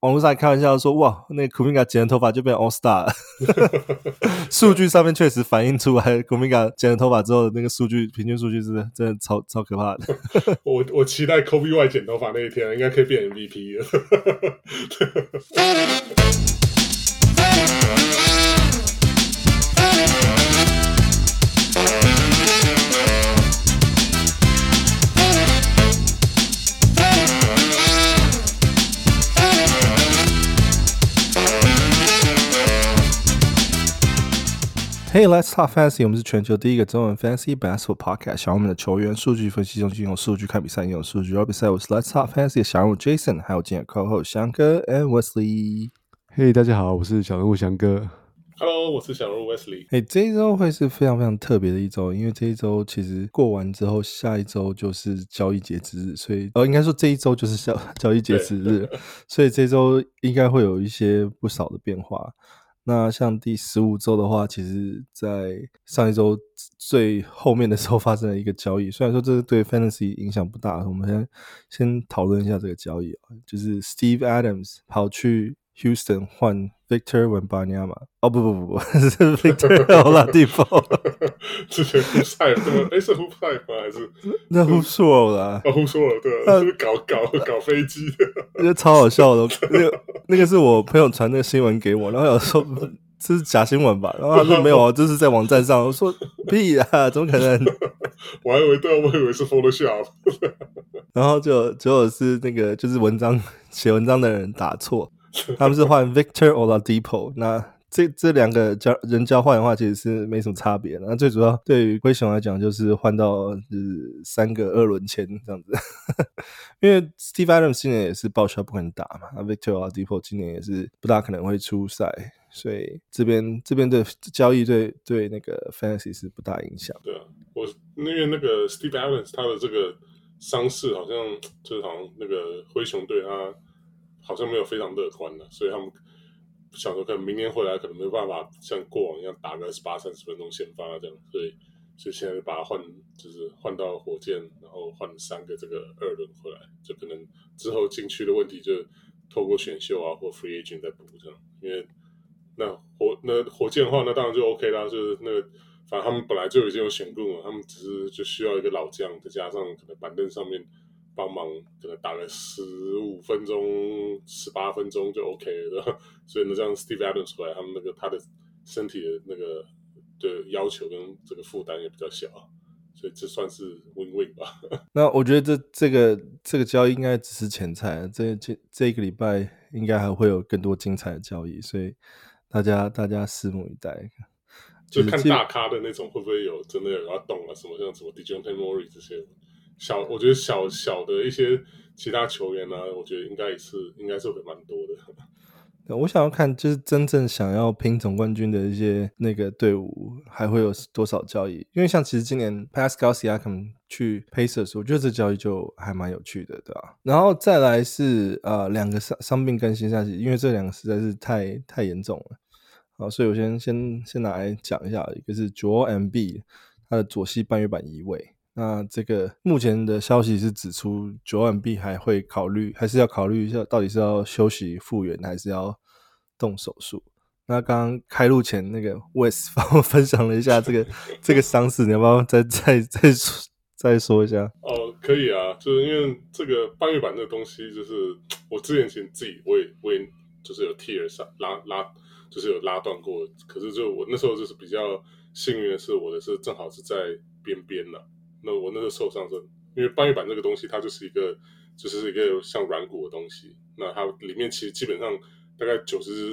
網絡上還開玩笑說，哇，那個 Kuminga 剪了頭髮就變 All Star 了。數據上面確實反映出來 ，Kuminga 剪了頭髮之後的那個數據，平均數據真的超可怕的。 我期待 Kobe Y 剪頭髮那一天，應該可以變 MVP 了。 Hey, let's talk fantasy. 我們是全球第一個中文 fantasy basketball podcast。想我們的球員數據分析中心用數據看比賽，用數據聊比賽。我是 Let's Talk Fantasy 的小人物 Jason， 還有今天的 co-host 翔哥 and Wesley。 嘿，大家好，我是小人物翔哥。 Hello， 我是小人物 Wesley。 這一周會是非常非常特別的一周，因為這一周其實過完之後，下一周就是交易截止日，所以應該說這一周就是交易截止日，所以這周應該會有一些不少的變化。那像第15周的話，其實在上一周最後面的時候發生了一個交易，雖然說這個對 Fantasy 影響不大，我們先討論一下這個交易，就是 Steve Adams 跑去 Houston 換 Victor Wembanyama， 不，是 Victor Oladipo。 之前胡塞了对吧？是胡塞嗎？還是那胡索啦？ 胡索了，對啊，是不是搞飛機的？ 那超好笑的，那個是我朋友傳那個新聞給我，然後有說這是假新聞吧，然後他說沒有啊，這是在網站上。我說屁啊，怎麼可能？ 我以為是 Photoshop。 然後結果是那個就是寫文章的人打錯，他們是換 Victor Oladipo。那這兩個人交換的話，其實是沒什麼差別。那最主要對於灰熊來講，就是換到就是3個2輪簽這樣子。因為 Steve Adams 今年也是報銷不可能打嘛，那 Victor Oladipo 今年也是不大可能會出賽，所以這邊的交易對那個 Fantasy 是不大影響。 對啊，因為那個 Steve Adams 他的這個傷勢好像那個灰熊隊他好像沒有非常樂觀的，所以他們想說可能明年回來可能沒有辦法像過往一樣打個28-30分鐘先發這樣，所以現在就把它換到火箭，然後換3個這個2輪回來，就可能之後禁區的問題就透過選秀啊或 free agent 再補這樣。因為那火箭的話，那當然就 OK 啦，就是那個反正他們本來就已經有選過了，他們只是就需要一個老將，再加上可能板凳上面幫忙，可能打個15分鐘、18分鐘就 OK 了，所以呢，這樣 Steve Adams 回來，他们他的身體的那個的要求跟這個負擔也比較小，所以這算是 win-win 吧。那我覺得這個交易應該只是前菜，這一個禮拜應該還會有更多精彩的交易，所以大家拭目以待。 就看大咖的那種會不會有真的有要動啊，什麼像什麼 Dejounte Murray 這些。我覺得小的一些其他球員呢，我覺得應該是會蠻多的。 我想要看，就是真正想要拼總冠軍的一些那個隊伍，還會有多少交易？因為像其實今年 Pascal Siakam 去 Pacers， 我覺得這交易就還蠻有趣的，對吧？然後再來是2個傷病更新下去，因為這2個實在是太嚴重了。好，所以我先拿來講一下，一個是 Joel Embiid， 他的左膝半月板移位。那這個目前的消息是指出 Joel Embiid 還是要考慮一下，到底是要休息復原還是要動手術。那剛剛開錄前那個 Wes 幫我分享了一下這個傷勢，你要不要再說一下？ 哦，可以啊，就是因為這個半月板這個東西，就是我之前自己我也就是有 tear 拉就是有拉斷過，可是就我那時候就是比較幸運的是，我的是正好是在邊了。那我那個受傷是，因為半月板這個東西，它就是一個像軟骨的東西。那它裡面其實基本上大概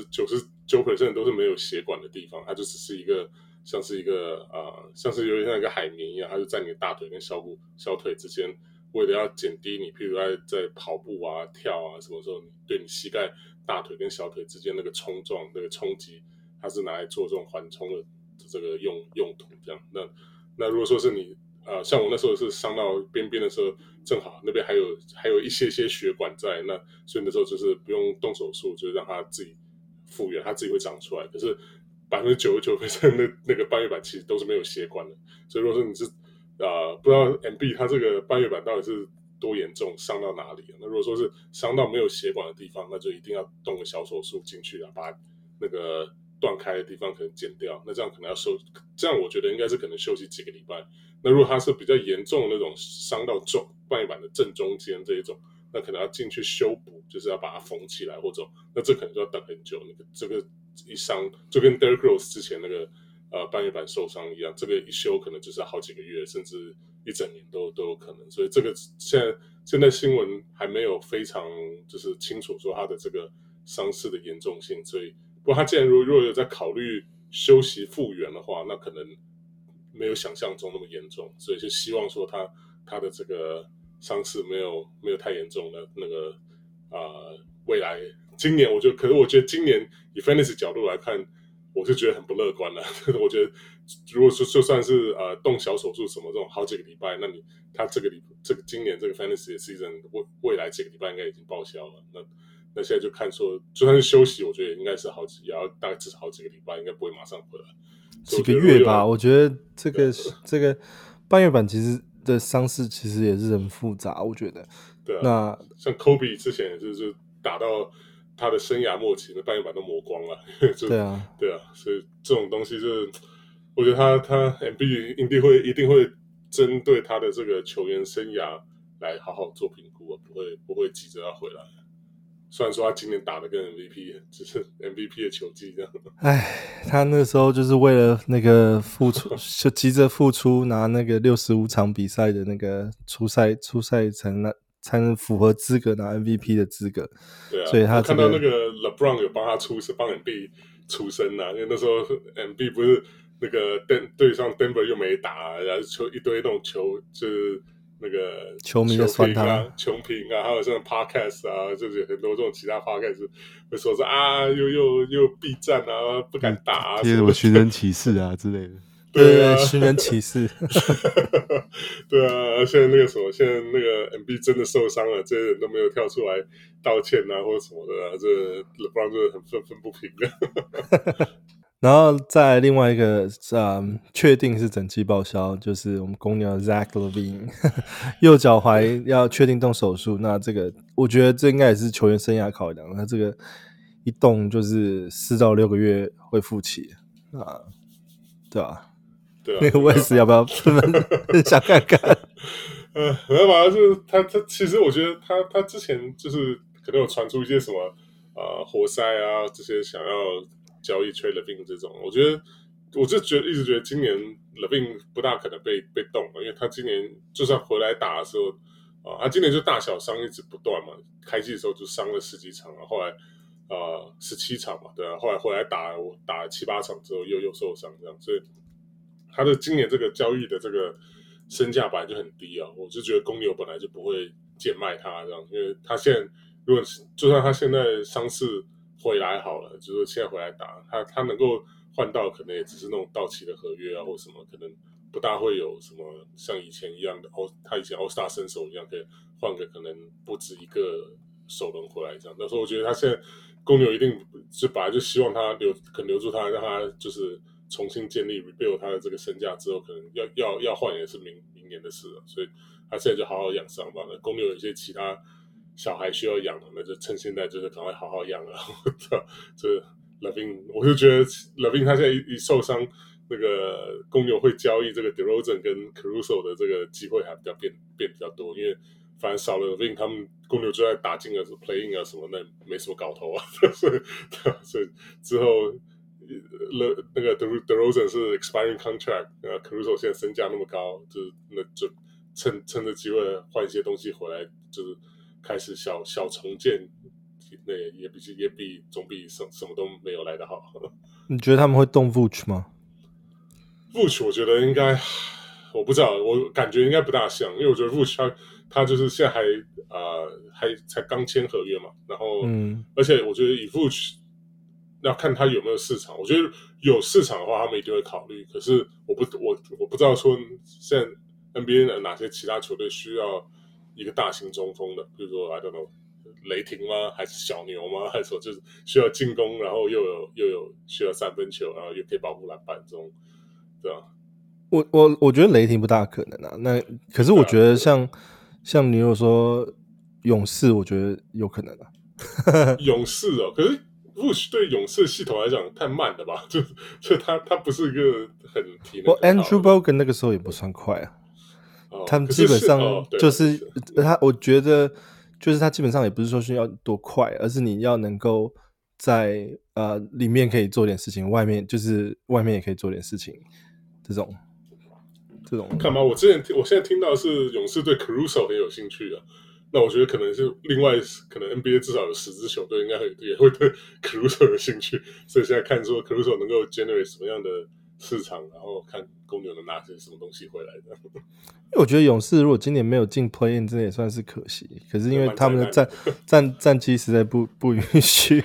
99% 都是沒有血管的地方，它就只是一個像是有點像一個海綿一樣，它就在你的大腿跟小腿之間，為了要減低你，譬如在跑步啊、跳啊什麼時候，你對你膝蓋、大腿跟小腿之間那個衝撞、那個衝擊，它是拿來做這種緩衝的這個用途。這樣，那如果說是你。像我那時候是傷到邊的時候，正好那邊還有一些血管在，那所以那時候就是不用動手術，就是讓它自己復原，它自己會長出來。可是99%那個半月板其實都是沒有血管的，所以如果說你是不知道 MB 它這個半月板到底是多嚴重，傷到哪裡。那如果說是傷到沒有血管的地方，那就一定要動個小手術進去，把那個斷開的地方可能剪掉。那這樣可能要這樣我覺得應該是可能休息幾個禮拜。那如果它是比較嚴重的那種傷到半月板的正中間這一種，那可能要進去修補，就是要把它縫起來或者，那這可能就要等很久。這個一傷就跟 Derrick Rose 之前那個半月板受傷一樣，這個一修可能就是好幾個月，甚至一整年都有可能。所以這個現在新聞還沒有非常就是清楚說他的這個傷勢的嚴重性。所以不過他既然如果有在考慮休息復原的話，那可能沒有想象中那麼嚴重。所以就希望說他的這個傷勢沒有太嚴重的那個未来今年可是我覺得今年以 Fantasy 角度来看，我是覺得很不樂觀了。我覺得如果说就算是动小手術什麼這種好幾個禮拜，那他今年這個 Fantasy 的 season 未來幾個禮拜應該已經報銷了。那現在就看說，就算是休息，我覺得應該是也要大概至少好幾個禮拜，應該不會馬上回來。 幾個月吧，我覺得這個半月板其實的傷勢其實也是很複雜，我覺得。 对啊， 那像 Kobe 之前也是打到他的生涯末期，那半月板都磨光了。 对啊， 所以這種東西就是，我覺得他 MB 一定會針對他的這個球員生涯來好好做評估啊，不會急着要回來。雖然說他今年打的跟 MVP 只是 MVP 的球技這樣。 唉，他那時候就是為了那個復出，就急着復出，拿那個65場比賽的那個初賽才能符合資格拿 MVP 的資格。 對啊， 所以他看到那個 LeBron 有幫他幫 MB 出聲啊，因為那時候 MB 不是那個對上 Denver 又沒打，然後一堆那種球就是那個球迷的酸他球評啊，還有這種 podcast 啊，就是很多這種其他 podcast 會說又避戰啊，不敢打啊， 貼什麼尋人啟事啊之類的。 對啊，尋人啟事。 對啊，現在那個 MB 真的受傷了，這些人都沒有跳出來道歉啊，或者什麼的啊，這 LeBron 真的很憤憤不平的。 然後再來另外一個確定是整季報銷，就是我們公牛的 Zach LaVine 右腳踝要確定動手術。那這個我覺得這應該也是球員生涯考量，他這個一動就是4到6個月會復起啊，對吧？對啊，那個 Wes 要不要分享看看？ 沒有吧，就是他其實我覺得他之前就是可能有傳出一些什麼活塞啊這些想要交易 trade LaVine 這種，我就一直覺得今年 LaVine 不大可能被動了，因為他今年就算回來打的時候他今年就大小傷一直不斷嘛，開季的時候就傷了10幾場，後來17場嘛，對啊，後來回來打了7、8場之後又受傷這樣，所以他的今年這個交易的這個身價本來就很低啊，我就覺得公牛本來就不會賤賣他這樣，因為他現在就算他現在傷勢回來好了，就是現在回來打，他能夠換到可能也只是那種到期的合約啊，或什麼，可能不大會有什麼像以前一樣的他以前 All-Star 身手一樣可以換個可能不止一個首輪回來這樣。但是我覺得他現在公牛一定就本來就希望他可能留住他，讓他就是重新建立 rebuild 他的這個身價之後，可能要換也是明年的事了，所以他現在就好好養傷吧。那公牛有一些其他小孩需要養的，那就趁現在就是趕快好好養了。這 LaVine 我就覺得 LaVine 他現在一受傷，那個公牛會交易這個 DeRozan 跟 Caruso 的這個機會還變比較多，因為反正少了 LaVine 他們公牛就在打進了 play-in 啊什麼，那沒什麼搞頭啊。所以之後那個 DeRozan 是 expiring contract， Caruso 現在身價那麼高，那就趁着機會換一些東西回來，就是開始小重建，那也比總比什麼都沒有來得好。 你覺得他們會動 Vooch 嗎 ？Vooch 我覺得應該，我不知道，我感覺應該不大像，因為我覺得 Vooch 他就是現在還才剛簽合約嘛，然後而且我覺得以 Vooch要看他有沒有市場，我覺得有市場的話，他們一定會考慮。可是我不知道說現在 NBA 的哪些其他球隊需要一個大型中鋒的，比如說 I don't know 雷霆嗎？還是小牛嗎？還是說就是需要進攻，然後又有需要3分球，然後又可以保護籃板這種，對吧？ 我覺得雷霆不大可能啊。那可是我覺得像像你如果說勇士，我覺得有可能啊。 勇士哦，可是 Vuce 对勇士系統來講太慢了吧？就他不是一個很体能很好的。 Andrew Bogut 那個時候也不算快啊。他们基本上就是我觉得就是他基本上也不是说需要多快，而是你要能夠在裡面可以做點事情，外面也可以做點事情，這種。 看嘛，我現在聽到的是勇士對 Caruso 很有興趣啊。那我覺得可能是另外，可能 NBA 至少有10支球隊应該也會對 Caruso 有興趣，所以現在看說 Caruso 能夠 generate 什麼樣的市場，然後看公牛能拿些什麼東西回來的。 因為我覺得勇士如果今年沒有進 Play In， 真的也算是可惜。可是因為他們的戰績實在不允許。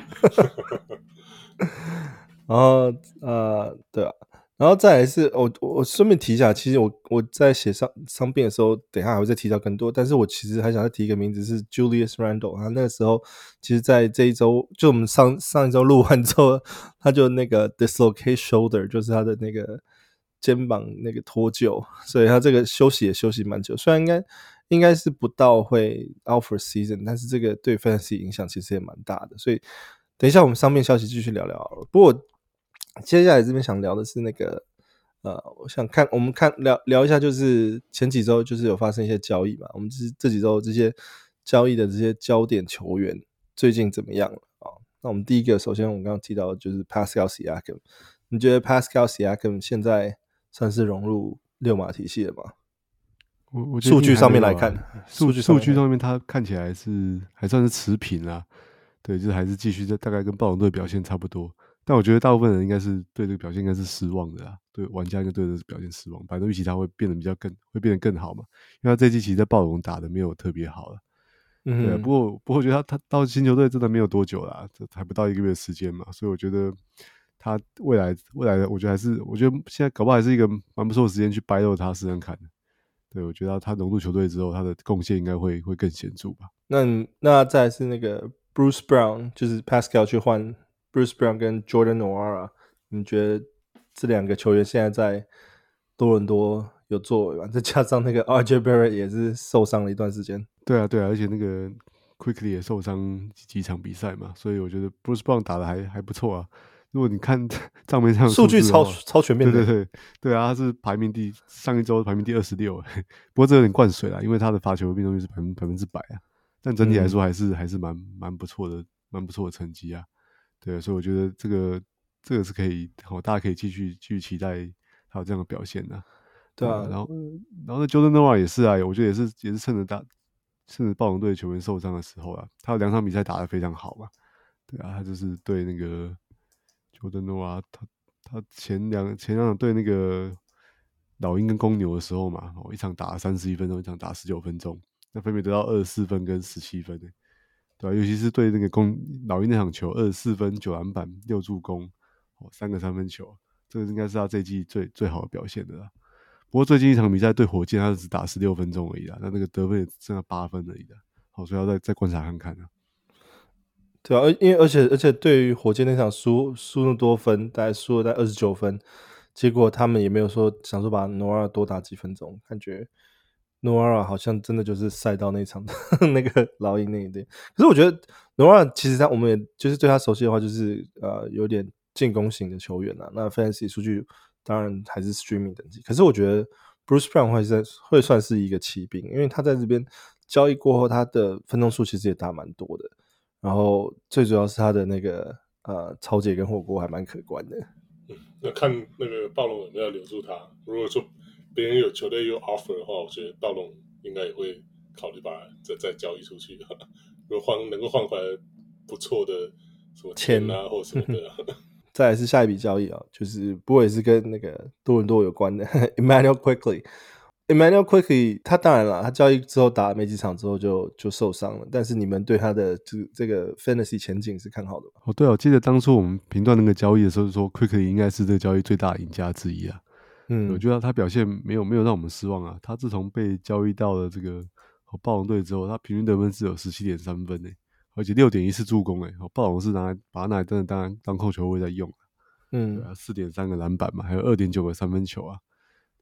然後對啊。然後再來是我順便提一下，其實我在寫傷病的時候，等一下還會再提到更多。但是我其實還想再提一個名字是 Julius Randle， 他那個時候其實在這一周，就我們上一周錄完之後，他就那個 dislocate shoulder， 就是他的那個肩膀那個脫臼，所以他這個休息蠻久。雖然應該是不到會 out for season， 但是這個對 fantasy 影響其實也蠻大的。所以等一下我們傷病消息繼續聊聊好了。不過接下來這邊想聊的是那個我想我們聊一下，就是前幾周就是有發生一些交易嘛，我們這幾周這些交易的這些焦點球員最近怎麼樣了啊？那我們第一個，首先我們剛剛提到的就是 Pascal Siakam， 你覺得 Pascal Siakam 現在算是融入六碼體系了嗎？ 我數據上面來看， 數據上面他看起来還算是持平啦，對，就是還是繼續大概跟暴龙隊表現差不多。但我覺得大部分人應該是對這個表現應該是失望的啦，對玩家應該对這個表現失望，反正預期他會變得更好嘛，因為他這季其實在暴龍打的沒有特別好了，對啊，不過我覺得他到新球隊真的沒有多久啦，這還不到1個月的時間嘛，所以我覺得他未來的我覺得現在搞不好還是一個蠻不錯的時間去掰肉他試試看的，對，我覺得他融入球隊之後，他的貢獻應該會更顯著吧。 那再來是那個 Bruce Brown， 就是 Pascal 去換Bruce Brown 跟 Jordan Nwora， 你覺得這兩個球員現在在多倫多有作為嗎？再加上那個 RJ Barrett 也是受傷了一段時間。 對啊，而且那個 Quickly 也受傷幾場比賽嘛，所以我覺得 Bruce Brown 打得還不錯啊。如果你看賬面上數據超全面的， 對啊，他是上一周排名第26，不過這有點灌水啦，因為他的罰球命中率是100%啊，但整體來說還是蠻不錯的成績啊。對，所以我覺得這個是可以，大家可以繼續期待他有這樣的表現的。 對啊， 然後那 Jordan Nwora 也是啊，我覺得也是趁着暴龍隊球員受傷的時候啊，他有2場比賽打得非常好嘛。對啊，他就是對那個 Jordan Nwora，他前兩場對那個老鷹跟公牛的時候嘛，一場打31分鐘，一場打19分鐘，那分別得到24分跟17分欸。對啊，尤其是對那個老鷹那場球，24分、9籃板、6助攻，3個3分球，這個應該是他這一季最好的表現的啦。不過最近一場比賽對火箭，他只打16分鐘而已啦，那個得分也剩下8分而已啦。好，所以要再觀察看看啊。 對啊，因為而且對於火箭那場輸那麼多分，大概輸了在29分，結果他們也沒有說想說把 Nwora 多打幾分鐘，感覺 Nwora 好像真的就是賽到那場的那個老鷹那一隊。可是我覺得 Nwora 其實我們也就是對他熟悉的話，就是有點進攻型的球員啊。那 Fantasy 數據當然還是 Streaming 等級，可是我覺得 Bruce Brown 會算是一個奇兵，因為他在這邊交易過後，他的分鐘數其實也打蠻多的。然後最主要是他的那個抄截跟火鍋還蠻可觀的。 那看那個暴龍有沒有留住他。如果說別人有球隊有 offer 的話，我覺得暴龍應該也會考慮把他再交易出去。如果能夠換回來不錯的什麼錢啊或什麼的。 再來是下一筆交易啊，就是不過也是跟那個多倫多有關的 Immanuel Quickley。Immanuel Quickley 他當然了，他交易之後打沒幾場之後就受傷了，但是你們對他的這個 Fantasy 前景是看好的嗎？ 對，我記得當初我們評斷那個交易的時候說 Quickley 應該是這個交易最大的贏家之一啊。我覺得他表現沒有讓我們失望啊。他自從被交易到了這個暴龍隊之後，他平均得分是有 17.3 分欸，而且 6.14 助攻欸。暴龍是把他拿來真的當控球位在用。對啊，4.3個籃板嘛，還有2.9個三分球啊。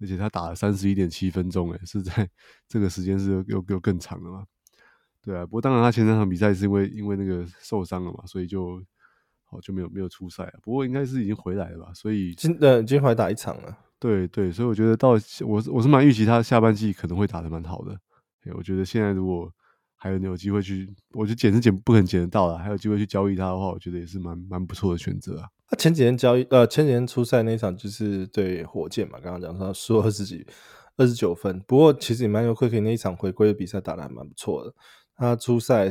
而且他打了31.7分鐘，是在這個時間是又更長了嘛？對啊，不過當然他前3場比賽是因為那個受傷了嘛，所以就沒有出賽了。不過應該是已經回來了吧？所以今天回來打1場了。 对，所以我觉得我是蠻預期他下半季可能會打得蠻好的。我覺得現在如果還有機會去，我覺得不可能撿得到啦，還有機會去交易他的話，我覺得也是蠻不錯的選擇啊。 他前幾天出賽那一場就是對火箭嘛，剛剛講他輸了29分。不過其實Immanuel Quickley那一場回歸的比賽打得還蠻不錯的。他出賽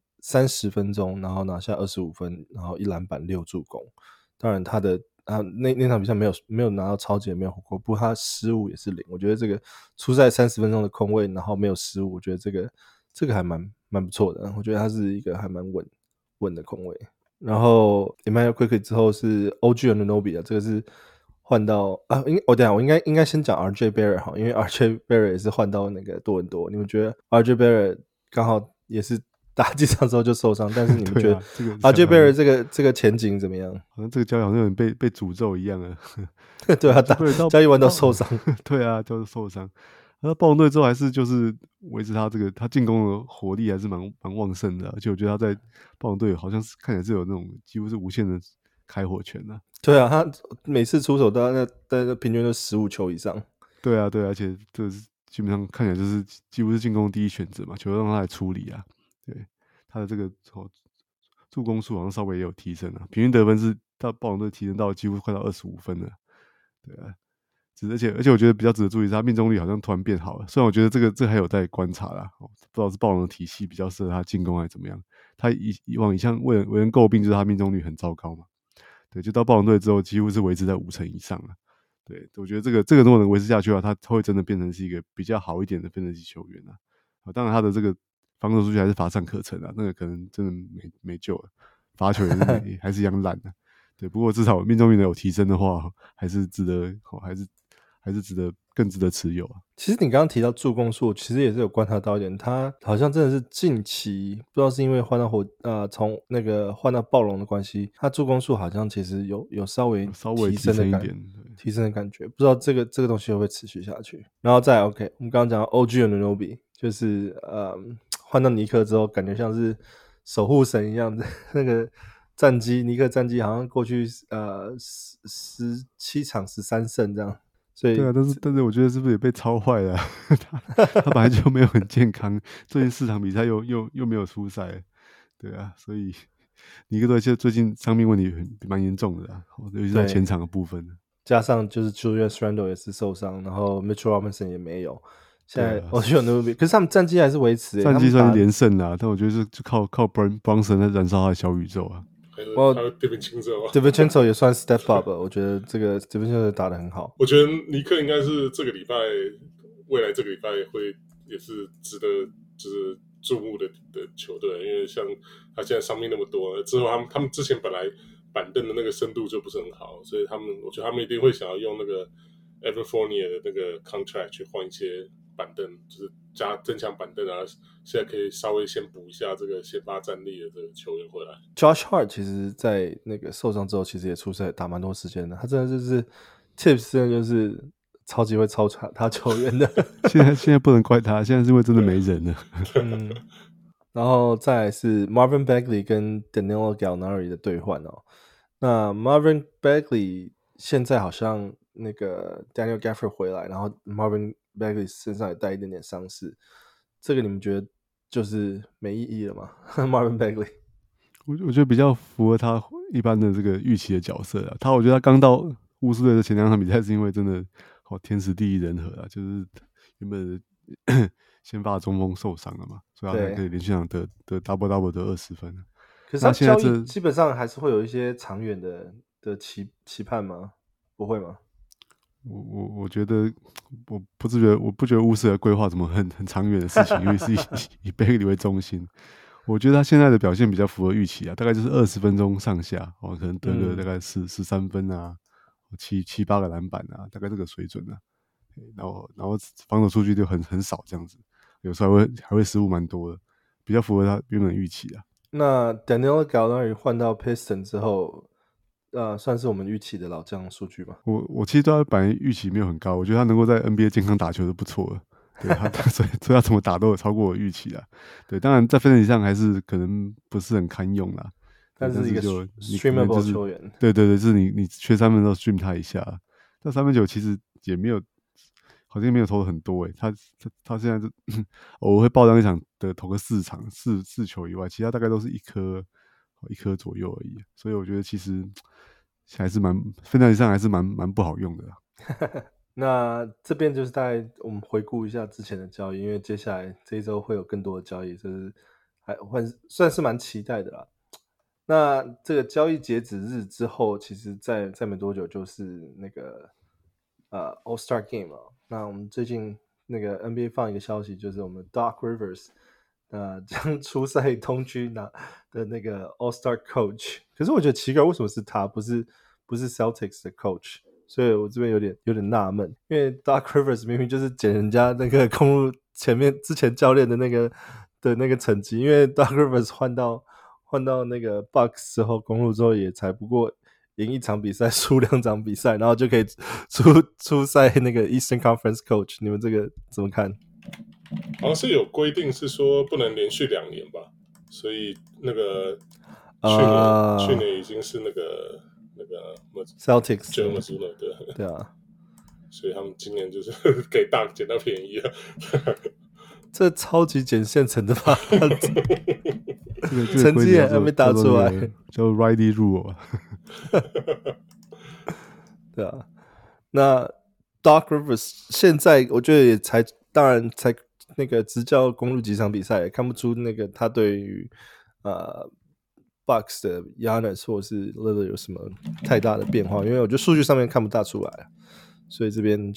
30分鐘，然後拿下25分，然後1籃板6助攻。當然他那場比賽沒有拿到超级，也沒有火鍋，不過他失誤也是0。我覺得這個出賽30分鐘的空位，然後沒有失誤，我覺得這個還蠻不錯的。我覺得他是一個還蠻穩的空位。然後 Immanuel Quickley 之後是 OG Anunoby 這個是換到我應該先講 RJ Barrett 好，因為 RJ Barrett 也是換到那個多倫多。你們覺得 RJ Barrett 剛好也是打幾場之後就受傷，但是你们覺得 RJ Barrett 這個前景怎麼樣？ 好像這個交易好像有點被詛咒一樣了。 對啊，交易完都受傷。 對啊，就是受傷。那暴龍隊之後還是就是維持他進攻的火力還是蠻旺盛的，而且我覺得他在暴龍隊好像是看起來是有那種幾乎是無限的開火權啊。 對啊，他每次出手大概平均都15球以上。 对啊，而且這是基本上看起來就是幾乎是進攻第一選擇嘛，球讓他來處理啊。對，他的這個助攻數好像稍微也有提升啊，平均得分是到暴龍隊提升到幾乎快到25分了。對啊。而且我覺得比較值得注意是他命中率好像突然變好了，雖然我覺得這個還有待觀察啦，不知道是暴龍的體系比較適合他進攻還是怎麼樣。他以往一向為人詬病就是他命中率很糟糕嘛，對，就到暴龍隊之後幾乎是維持在50%以上了。對，我覺得這個如果能維持下去的話，他會真的變成是一個比較好一點的分析球員啊。當然他的這個防守數據還是乏善可陳啊，那個可能真的沒救了，罰球也是還是一樣爛的。對，不過至少命中率能有提升的話，還是值得，還是更值得持有啊。 其實你剛剛提到助攻數，其實也是有觀察到一點，他好像真的是近期不知道是因為換到從那個換到暴龍的關係，他助攻數好像其實有稍微提升的感覺，提升的感覺，不知道這個東西會不會持續下去。然後再 OK， 我們剛剛講到 OG Anunoby， 就是換到尼克之後，感覺像是守護神一樣的那個尼克戰績好像過去17場13勝這樣。所以對啊，但是我覺得是不是也被操壞了、啊？他本來就沒有很健康，最近4場比賽又沒有出賽，對啊，所以尼克隊最近傷病問題蠻嚴重的啦，尤其是在前場的部分。 加上就是 Julius Randle 也是受傷，然後 Mitchell Robinson 也沒有。現在我覺得 Anunoby，可是他們戰績還是維持， 戰績算是連勝啦，但我覺得就靠 Brunson 在燃燒他的小宇宙啊。 還有 DiVincenzo 也算 step up 了，我覺得這個 DiVincenzo 打得很好。 我覺得尼克應該是未來這個禮拜會也是值得就是注目的球隊，因為像他現在傷病那麼多，之後他們之前本來板凳的那個深度就不是很好，所以我覺得他們一定會想要用那個 Evan Fournier 的那個 contract 去換一些板凳，就是增強板凳啊，現在可以稍微先補一下這個先發戰力的這個球員回來。 Josh Hart 其實在那個受傷之後，其實也出賽打蠻多時間的。他真的就是 Tips 真的就是超級會操他球員的。 現在不能怪他，現在是因為真的沒人了。 然後再來是 Marvin Bagley 跟 Danilo Gallinari 的兌換哦。那 Marvin Bagley 現在好像那個 Daniel Gafford 回來，然後 Marvin Bagley 身上也帶一點點傷勢，這個你們覺得就是沒意義了嗎？Marvin Bagley， 我覺得比較符合他一般的這個預期的角色啊。我覺得他剛到巫師隊的前2場比賽是因為真的天時地利人和啊，就是原本先發中鋒受傷了嘛，所以他才可以連續場得 double 得20分。 可是他交易基本上還是會有一些長遠的期盼嗎？不會嗎？ 我覺得我不覺得巫師的規劃怎麼很長遠的事情，因為是以貝利為中心。我覺得他現在的表現比較符合預期啊，大概就是20分鐘上下，可能得個大概13分啊，7-8個籃板啊，大概這個水準啊。然後防守數據就很少這樣子，有時候還會失誤蠻多的，比較符合他原本預期啊。 那 Danilo Gallinari 換到 Piston 之後， 算是我們預期的老將數據吧。 我其實對他本來預期沒有很高，我覺得他能夠在 NBA 健康打球就不錯了。對所以他怎麼打都有超過我預期啦。對，當然在分析上還是可能不是很堪用啦。 但是一個 streamable 球員， 对，就是你缺三分都 stream 他一下。但三分球其實也没有，好像沒有投的很多他現在就偶爾會爆單一場的投個4場四球以外，其他大概都是一顆左右而已。所以我覺得其實還是分析上還是蠻不好用的啦。 那這邊就是大概我們回顧一下之前的交易，因為接下來這一周會有更多的交易，就是算是蠻期待的啦。那這個交易截止日之後，其實在沒多久就是那個All-Star Game 了。那我們最近那個 NBA 放一個消息，就是我們 Doc Rivers 將出賽東區的那個 All-Star Coach。可是我覺得奇怪，為什麼是他，不是 Celtics 的 Coach？所以我這邊有點納悶，因為 Doc Rivers 明明就是撿人家那個公路之前教練的那個成績，因為 Doc Rivers 換到那個 Bucks 之後，公路之後也才不過贏1場比賽，輸2場比賽，然後就可以出賽那個 Eastern Conference Coach。你們這個怎麼看？ 好像是有規定是說不能連續2年吧，所以那個去年已經是那個 Celtics Joe Mazzulla 对啊， 所以他們今年就是給大撿到便宜了。 這超級撿現成的吧？ 這成績也還沒打出來， 叫 Riley Rule 對啊，那 Doc Rivers 現在我覺得也當然才那個執教公鹿幾場比賽，也看不出那個他對於Bucks 的 Giannis 或是 Lillard 有什麼太大的變化，因為我覺得數據上面看不大出來，所以這邊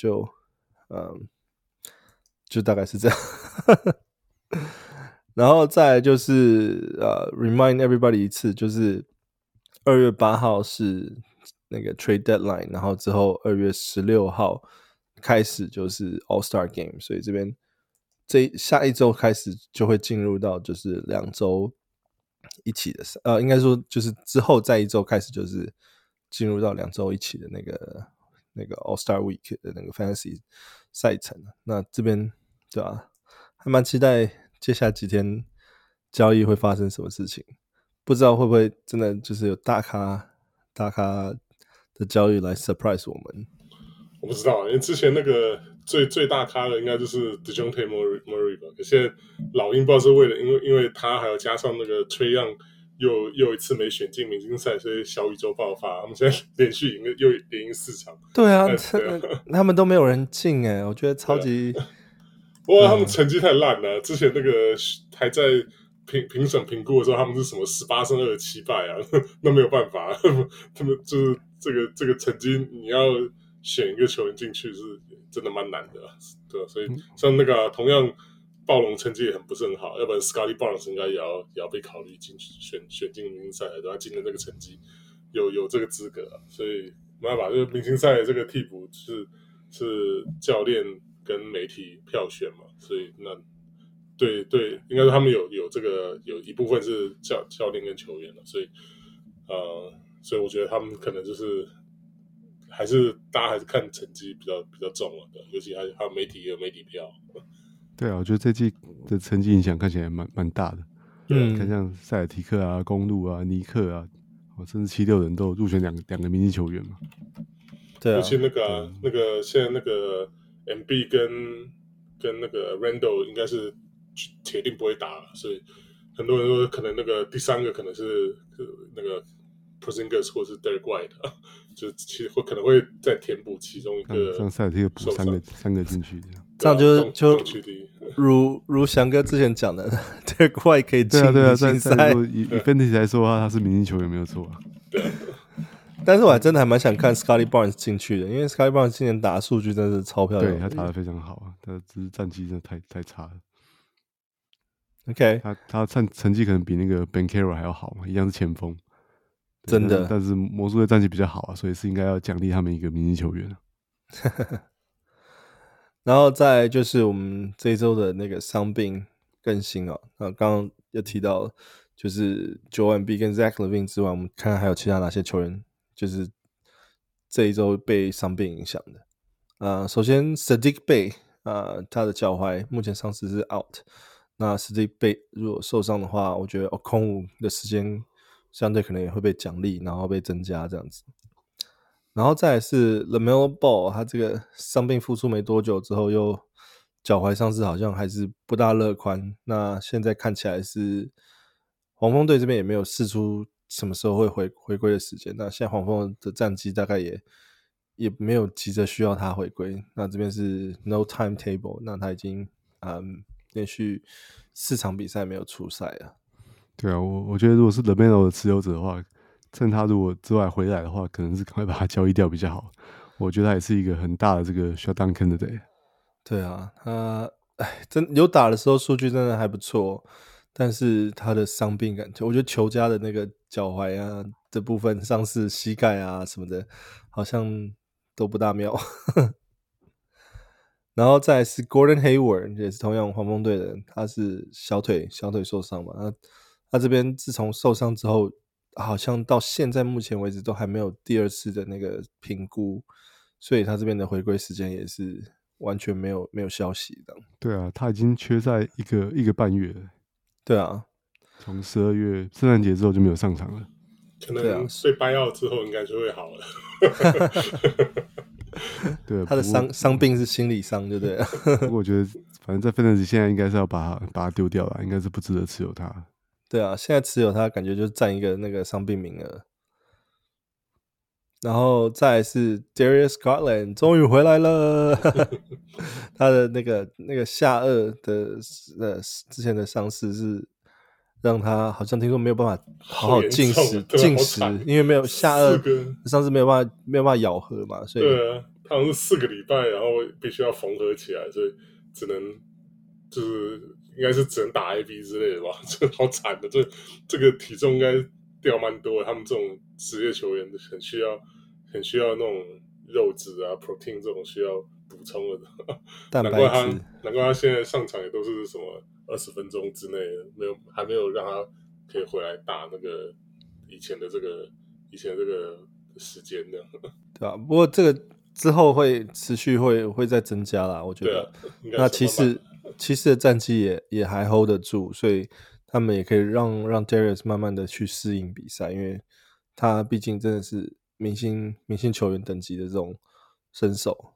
就大概是這樣。然後再來就是remind everybody 一次，就是2月8號是那個 trade deadline， 然後之後2月16號開始就是 All-Star Game， 所以這邊下一周開始就會進入到就是2周一起的應該說就是之後再一周開始就是進入到2周一起的那個 All-Star Week 的那個 Fantasy 賽程。那這邊對吧，還蠻期待接下來幾天交易會發生什麼事情，不知道會不會真的就是有大咖的交易來 surprise 我們。 我不知道，因為之前那個最大咖的应该就是 DeJounte Murray 吧，可现在老鷹不知道是为了因为他還有加上那個 Trae Young 又一次沒選進明星賽，所以小宇宙爆發，他們現在連續又連贏4場。 對啊，他們都沒有人進耶，我覺得超級。 不過他們成績太爛了，之前那個還在評審評估的時候，他們是什麼18勝27敗啊，那沒有辦法，他們就是這個成績，你要選一個球員進去是真的蠻難的，對吧？所以像那個同樣暴龍成績也不是很好，要不然 Scottie Barnes 應該也要被考慮進去選進明星賽，對吧？今年這個成績有這個資格啊，所以沒辦法，就是明星賽的這個替補是教練跟媒體票選嘛，所以那對，應該說他們有這個有一部分是教練跟球員了，所以我覺得他們可能就是大家還是看成績比較重了，對，尤其還有媒體也有媒體票。 對啊，我覺得這季的成績影響看起來蠻大的。看像塞爾提克啊、公鹿啊、尼克啊，甚至76人都有入選兩個明星球員嘛。 對啊， 尤其那個現在那個 MB 跟那個 Randall 應該是鐵定不會打了，所以很多人說可能那個第3個可能是那個 Porzingis 或是 Derek White， 就其實可能會再填補其中一個，像塞爾提克補三個進去這樣就如翔哥之前講的 Derek White 可以進明星賽。 以 Fantasy 來說的話，他是明星球員沒有錯啊。 對。 但是我還真的還蠻想看 Scottie Barnes 進去的，因為 Scottie Barnes 今年打的數據真的是超漂亮， 對，他打得非常好啊，他只是戰績真的太差了。 OK， 他成績可能比那個 Banchero 還要好嘛，一樣是前鋒， 真的。 但是魔術的戰績比較好啊，所以是應該要獎勵他們一個明星球員。 然後再來就是我們這一周的那個傷病更新哦，剛剛有提到就是 Joel Embiid 跟 Zach LaVine 之外，我們看看還有其他哪些球員就是這一周被傷病影響的。首先 Sadiq Bey 他的腳踝目前傷勢是 out。那 Sadiq Bey 如果受傷的話，我覺得Okongwu的時間相對可能也會被獎勵，然後被增加這樣子。然後再來是 LaMelo Ball， 他這個傷病復出沒多久之後又腳踝傷勢好像還是不大樂觀。那現在看起來是黃蜂隊這邊也沒有釋出什麼時候會回歸的時間。那現在黃蜂的戰績大概也沒有急着需要他回歸。那這邊是 no timetable， 那他已經連續4場比賽沒有出賽了。 對啊，我覺得如果是 LaMelo 的持有者的話，趁他如果之外回來的話，可能是趕快把他交易掉比較好。我覺得他也是一個很大的這個 shutdown candidate。 對啊，他真有打的時候數據真的還不錯，但是他的傷病感觉，我觉得球家的那個腳踝啊的部分傷勢、膝蓋啊什麼的，好像都不大妙。然後再來是 Gordon Hayward， 也是同樣黄蜂隊的人，他是小腿受傷嘛。他這邊自從受傷之後，好像到現在目前為止都還沒有第二次的那個評估，所以他這邊的回歸時間也是完全沒有消息的。 對啊，他已經缺賽一個半月了。對啊， 從12月聖誕節之後就沒有上場了。 可能被掰out之後應該就會好了。 對， 他的傷病是心理傷，對不对？ 不過我覺得，反正在 Fantasy 現在應該是要把他丟掉了，應該是不值得持有他。 對啊，現在持有他感覺就是占一個那個傷病名額。然後再來是 Darius Garland 終於回來了。他的那個下顎的之前的傷勢是讓他好像聽說沒有辦法好好進食，因為沒有下顎上次沒有辦法咬合嘛，所以對啊，他好像是4個禮拜，然后必須要縫合起來，所以只能就是應該是只能打 IV 之類的吧，這好慘的，這個體重應該掉蠻多的，他們這種職業球員很需要那種肉質啊 protein 這種需要補充的蛋白質， 難怪他現在上場也都是什麼20分鐘之內的，還沒有讓他可以回來打那個以前的這個時間的，對吧？不過這個之後會持續會再增加啦，我覺得。對啊，那其實的戰績也還 hold 得住，所以他們也可以讓 Darius 慢慢的去適應比賽，因為他畢竟真的是明星球員等級的這種身手。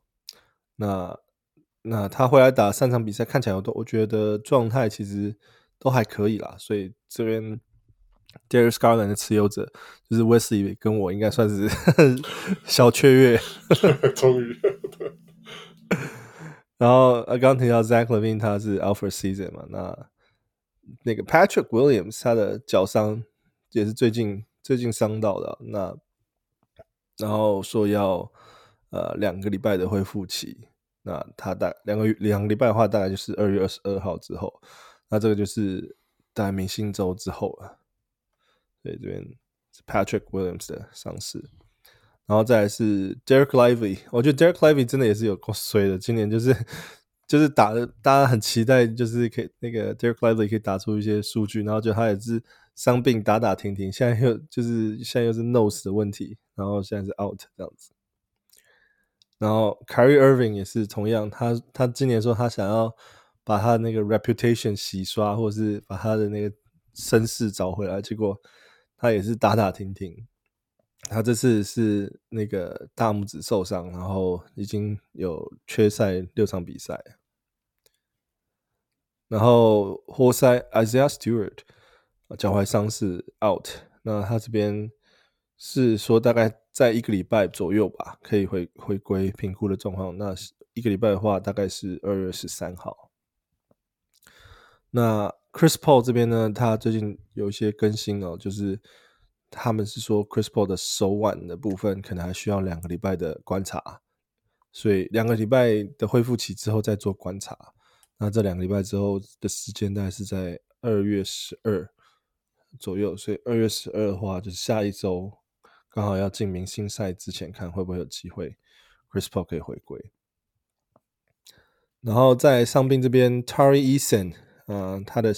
那他回來打3場比賽，看起來我覺得狀態其實都還可以啦，所以這邊 Darius Garland 的持有者就是 Wesley 跟我應該算是小雀躍， 終於。 然後剛剛提到 Zach LaVine 他是 out for season 嘛，那個 Patrick Williams 他的腳傷也是最近傷到的，然後說要2個禮拜的恢復期，那他兩個禮拜的話大概就是2月22號之後，那這個就是大概明星週之後了。所以這邊是 Patrick Williams 的傷勢，然後再來是 Derek Lively， 我覺得 Derek Lively 真的也是有夠衰的，今年就是打的大家很期待，就是可以那個 Derek Lively 可以打出一些數據，然後就他也是傷病打停停，現在又是 nose 的問題，然後現在是 out 這樣子。然後 Kyrie Irving 也是同樣，他今年說他想要把他那個 reputation 洗刷，或者是把他的那個身世找回來，結果他也是打停停。他這次是那個大拇指受傷，然後已經有缺賽6場比賽。然後活塞 Isaiah Stewart 腳踝傷勢 out， 那他這邊是說大概在1個禮拜左右吧，可以回歸評估的狀況。那1個禮拜的話，大概是2月13號。那 Chris Paul 這邊呢，他最近有一些更新哦，就是他們是說 Chris Paul 的手腕的部分可能還需要2個禮拜的觀察，所以2個禮拜的恢復期之後再做觀察。那這2個禮拜之後的時間大概是在2月12左右，所以2月12的話就是下一周剛好要進明星賽之前，看會不會有機會 Chris Paul 可以回歸。然後在傷兵這邊 Tari Eason他的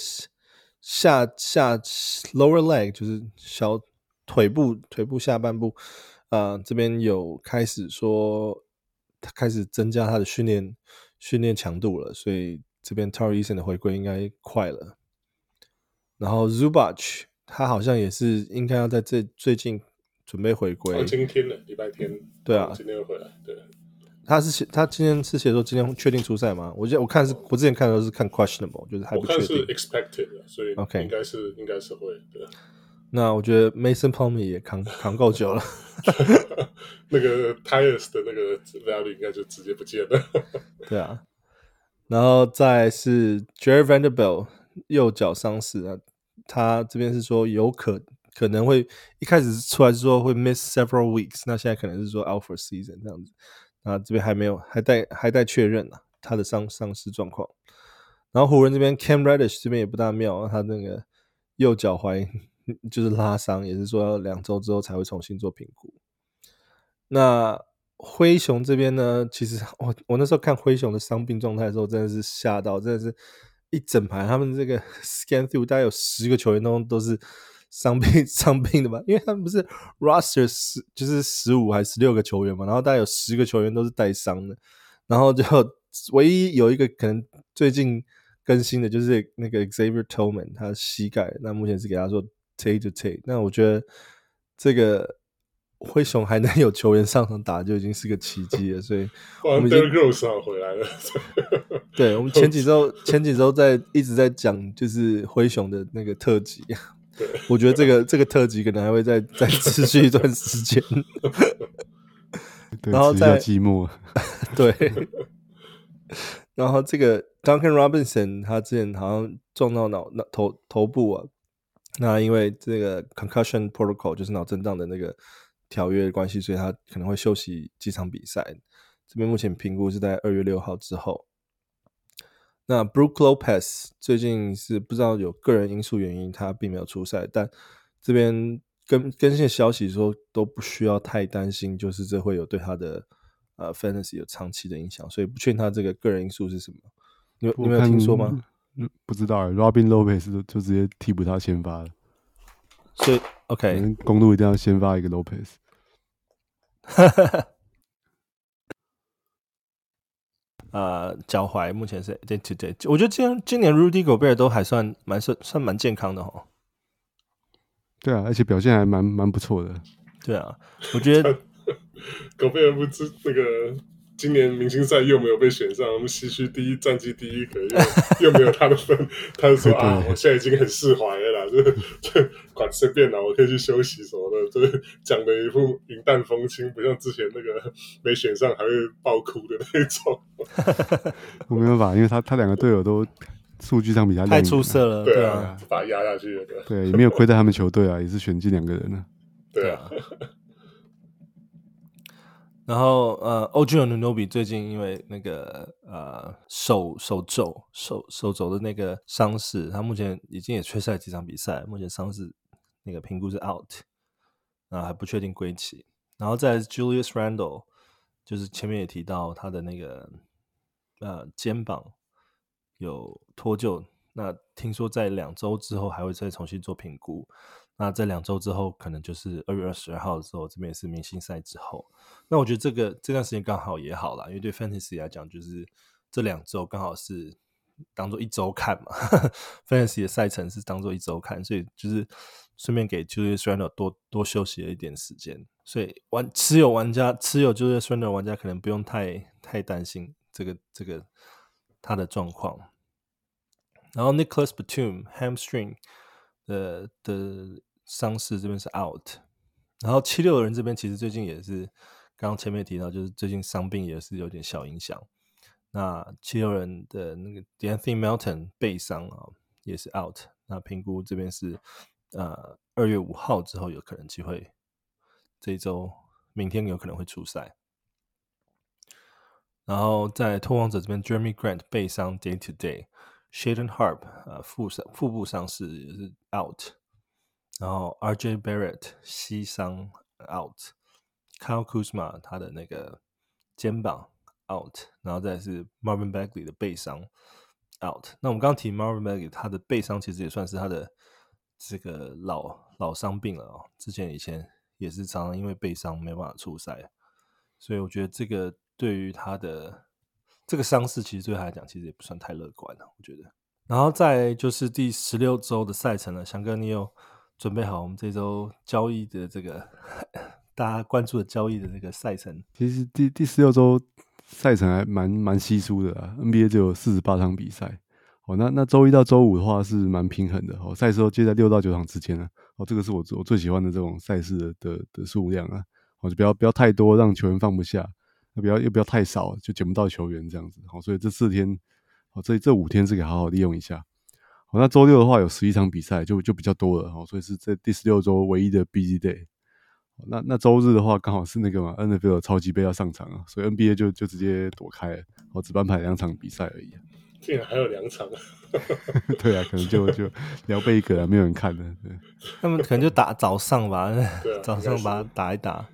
下 lower leg 就是小腿部下半部這邊有開始說他開始增加他的訓練強度了，所以這邊 Tari Eason 的回歸應該快了。然後 Zubac 他好像也是應該要在最近準備回歸。 今天了，禮拜天。 對啊， 今天又回来。對。 他今天是寫說今天確定出賽嗎？我看我之前看的都是看 questionable， 就是還不確定。 我看是 expected 的，所以應該是會。對。 那我覺得 Mason Plumlee 也扛夠久了。 那個 Tyus 的那個 value 應該就直接不見了。 對啊，然後再來是 Jared Vanderbilt 右腳傷勢啊，他這邊是說有可能會一開始出來是說會 miss several weeks， 那現在可能是說 out for season 這樣子。那這邊還待確認啊，他的傷勢狀況。然後湖人這邊 Cam Reddish 這邊也不大妙，他那個右腳踝就是拉傷，也是說要2周之後才會重新做評估。那灰熊這邊呢，其實我那時候看灰熊的傷病狀態的時候，真的是嚇到，真的是一整排他們這個 scan through 大概有10個球員都是傷病的吧，因為他們不是 roster 就是15還是16個球員嘛，然後大概有10個球員都是帶傷的，然後就唯一有一個可能最近更新的就是那個 Xavier Tillman 他的膝蓋，那目前是給他說 Tay to Tay， 那我觉得這個灰熊還能有球員上場打就已經是個奇蹟了，所以我們 Derrick Rose 回來了。 對，我們前幾周一直在講就是灰熊的那個特輯，我覺得這個特輯可能還會再持續一段時間。 對， 然後再寂寞。 對，然後這個 Duncan Robinson 他之前好像撞到頭部啊，那因為這個 concussion protocol 就是腦震盪的那個條約的關係，所以他可能會休息幾場比賽。這邊目前評估是在2月6號之後。那 Brook Lopez 最近是不知道有個人因素原因，他並沒有出賽，但這邊更新的消息說都不需要太擔心，就是這會有對他的fantasy 有長期的影響，所以不確定他這個人因素是什麼。你們有聽說嗎？ 不知道，Robin Lopez 就直接替補他先發了， 所以 OK， 公鹿一定要先發一個 Lopez。 腳踝目前是 day to day， 我覺得今年 Rudy Gobert 都還算蠻健康的齁。 對啊，而且表現還蠻不錯的。 對啊，我覺得 Gobert不知那個今年明星賽又沒有被選上，我們西區戰績第一，可又沒有他的分，他就說啊，我現在已經很釋懷了啦，就管隨便啦，我可以去休息什麼的，就是講的一副雲淡風輕，不像之前那個沒選上還會爆哭的那種。 我沒辦法，因為他兩個隊友都數據上比他太出色了， 對啊，把他壓下去了。 對，也沒有虧待他們球隊啊，也是選进2個人了。 對啊。 然後OG Anunoby 最近因為那個手肘的那個傷勢，他目前已經也缺賽幾場比賽，目前傷勢那個評估是 out， 還不確定歸期。然後再來是 Julius Randle， 就是前面也提到他的那個肩膀有脫臼，那聽說在2周之後還會再重新做評估。那在2周之後，可能就是2月22號的時候，這邊也是明星賽之後。那我覺得這段時間剛好也好啦，因為對 Fantasy 來講，就是這2周剛好是當做1周看嘛，Fantasy 的賽程是當做1周看，所以就是順便給 Julius Randle 多休息了一點時間。所以持有 Julius Randle 的玩家可能不用太擔心這個他的狀況。然後 Nicholas Batum hamstring 的傷勢這邊是 out， 然後76人這邊其實最近也是剛剛前面提到，就是最近傷病也是有點小影響。那76人的那個 D'Anthony Melton 背傷也是 out， 那評估這邊是2月5號之後有可能機會，這一周明天有可能會出賽。然後在拓荒者這邊 Jeremy Grant 背傷 day to day，Shaedon Harp 腹部傷勢也是 out， 然後 RJ Barrett 膝傷 out，Kyle Kuzma 他的那個肩膀 out， 然後再來是 Marvin Bagley 的背傷 out。那我們剛剛提 Marvin Bagley 他的背傷其實也算是他的這個老傷病了之前以前也是常常因為背傷沒辦法出賽，所以我覺得這個對於他的這個傷勢，其實對他來講其實也不算太樂觀了，我覺得。然後再就是第16週的賽程了，翔哥你有準備好我們這週交易的這個大家關注的交易的這個賽程？ 其實第16週賽程還蠻稀疏的啊 ，NBA 只有48場比賽。那週一到週五的話是蠻平衡的，賽事都接在6到9場之間啊。這個是我最喜歡的這種賽事的數量啊。就不要太多，讓球員放不下；又不要太少，就撿不到球員這樣子。所以這4天，這5天是可以好好利用一下。那週六的話有11場比賽，就比較多了，所以是這第16週唯一的 busy day。那週日的話剛好是那個嘛 NFL 超級盃要上場啊，所以 NBA 就直接躲開了，只頒排2場比賽而已。 竟然還有2場對啊，可能就聊備一個啊，沒有人看的。對， 他們可能就打早上吧，早上把它打一打。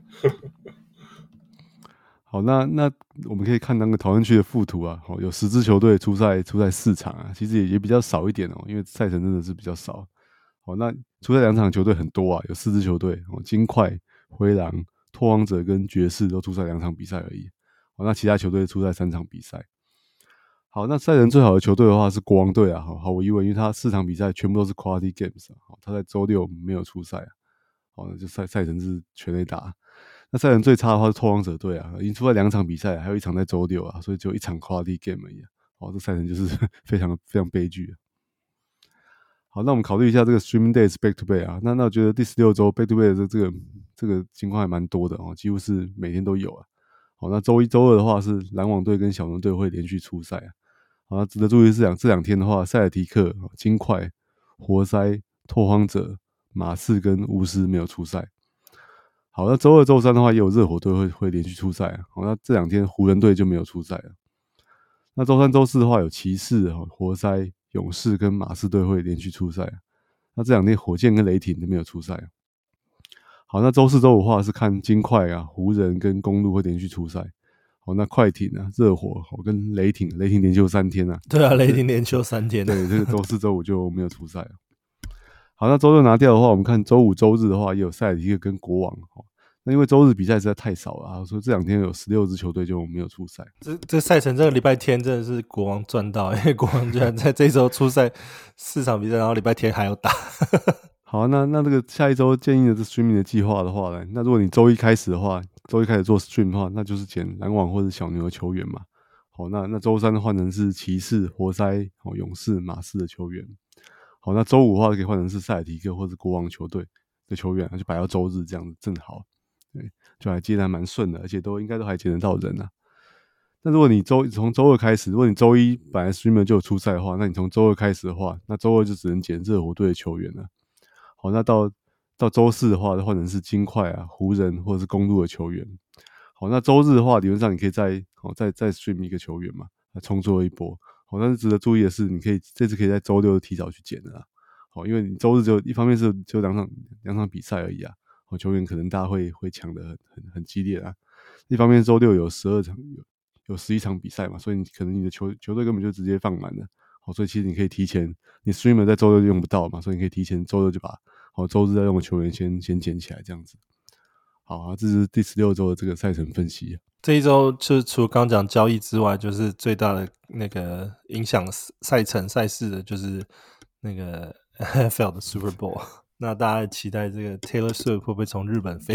好，那我們可以看那個討論區的附圖啊，有10支球隊出賽4場啊，其實也比較少一點哦，因為賽程真的是比較少。好，那出賽2場球隊很多啊，有4支球隊，金塊、灰狼、拓荒者跟爵士都出賽2場比賽而已。好，那其他球隊出賽3場比賽。好，那賽程最好的球隊的話是國王隊啊，毫無疑問，因為他4場比賽全部都是 quality games 啊，他在週六沒有出賽啊，好，那就賽程是全壘打。那賽程最差的話是拓荒者隊啊，已經出賽2場比賽，還有1場在週六啊，所以只有1場 quality game 而已啊，好，這賽程就是非常非常悲劇啊。好，那我們考慮一下這個 streaming days back to back 啊，那我覺得第16週 back to back 的這個情況還蠻多的哦，幾乎是每天都有啊。好，那週1、週2的話是籃網隊跟小牛隊會連續出賽啊。好，那值得注意是這兩天的話，塞爾提克、金塊、活塞、拓荒者、馬刺跟巫師沒有出賽。好，那週2、週3的話也有熱火隊會連續出賽啊。好，那這2天湖人隊就沒有出賽了。那週3、週4的話有騎士、活塞、勇士跟馬刺隊會連續出賽啊。那這2天火箭跟雷霆都沒有出賽啊。好，那週4、週5的話是看金塊啊、湖人跟公鹿會連續出賽。好，那快艇啊、熱火跟雷霆連休3天啊。 對啊，雷霆連休3天。 對，這個週4、週5就沒有出賽了。好，那週6拿掉的話，我們看週5、週日的話也有塞爾提克跟國王。那因為週日比賽實在太少了啊，所以這2天有16支球隊就沒有出賽。 這賽程這個禮拜天真的是國王賺到，因為國王居然在這一週出賽4場比賽，然後禮拜天還要打。 好，那這個下一週建議的這 streaming 的計劃的話呢，那如果你週一開始做 stream 的話，那就是撿籃網或者小牛的球員嘛。好，那週3的換成是騎士、活塞、勇士、馬刺的球員。好，那週5的話可以換成是塞爾提克或者國王球隊的球員，就擺到週日這樣子正好。對，就還接得還蠻順的，而且應該都還撿得到人啊。那如果你從週2開始，如果你週1本來 streamer 就有出賽的話，那你從週2開始的話，那週2就只能撿熱火隊的球員了。好，那到週4的話，就換成是金塊啊、湖人或者是公鹿的球員。好，那週日的話，理論上你可以再 stream 一個球員嘛，重做一波。好，但是值得注意的是，這次可以在週6提早去撿的啦。好，因為你週日就一方面是就兩場比賽而已啊。好，球員可能大家會搶得很激烈啊。一方面週6有12場，有11場比賽嘛，所以你的球隊根本就直接放滿了。好，所以其實你可以提前，你 streamer 在週6就用不到嘛，所以你可以提前週6就把週日要用的球員先撿起來，這樣子。好啊，這是第16週的這個賽程分析。 這一週就除了剛剛講交易之外，就是最大的那個影響賽程賽事的，就是那個 NFL 的 Super Bowl。那大家期待這個 Taylor Swift 會不會從日本飛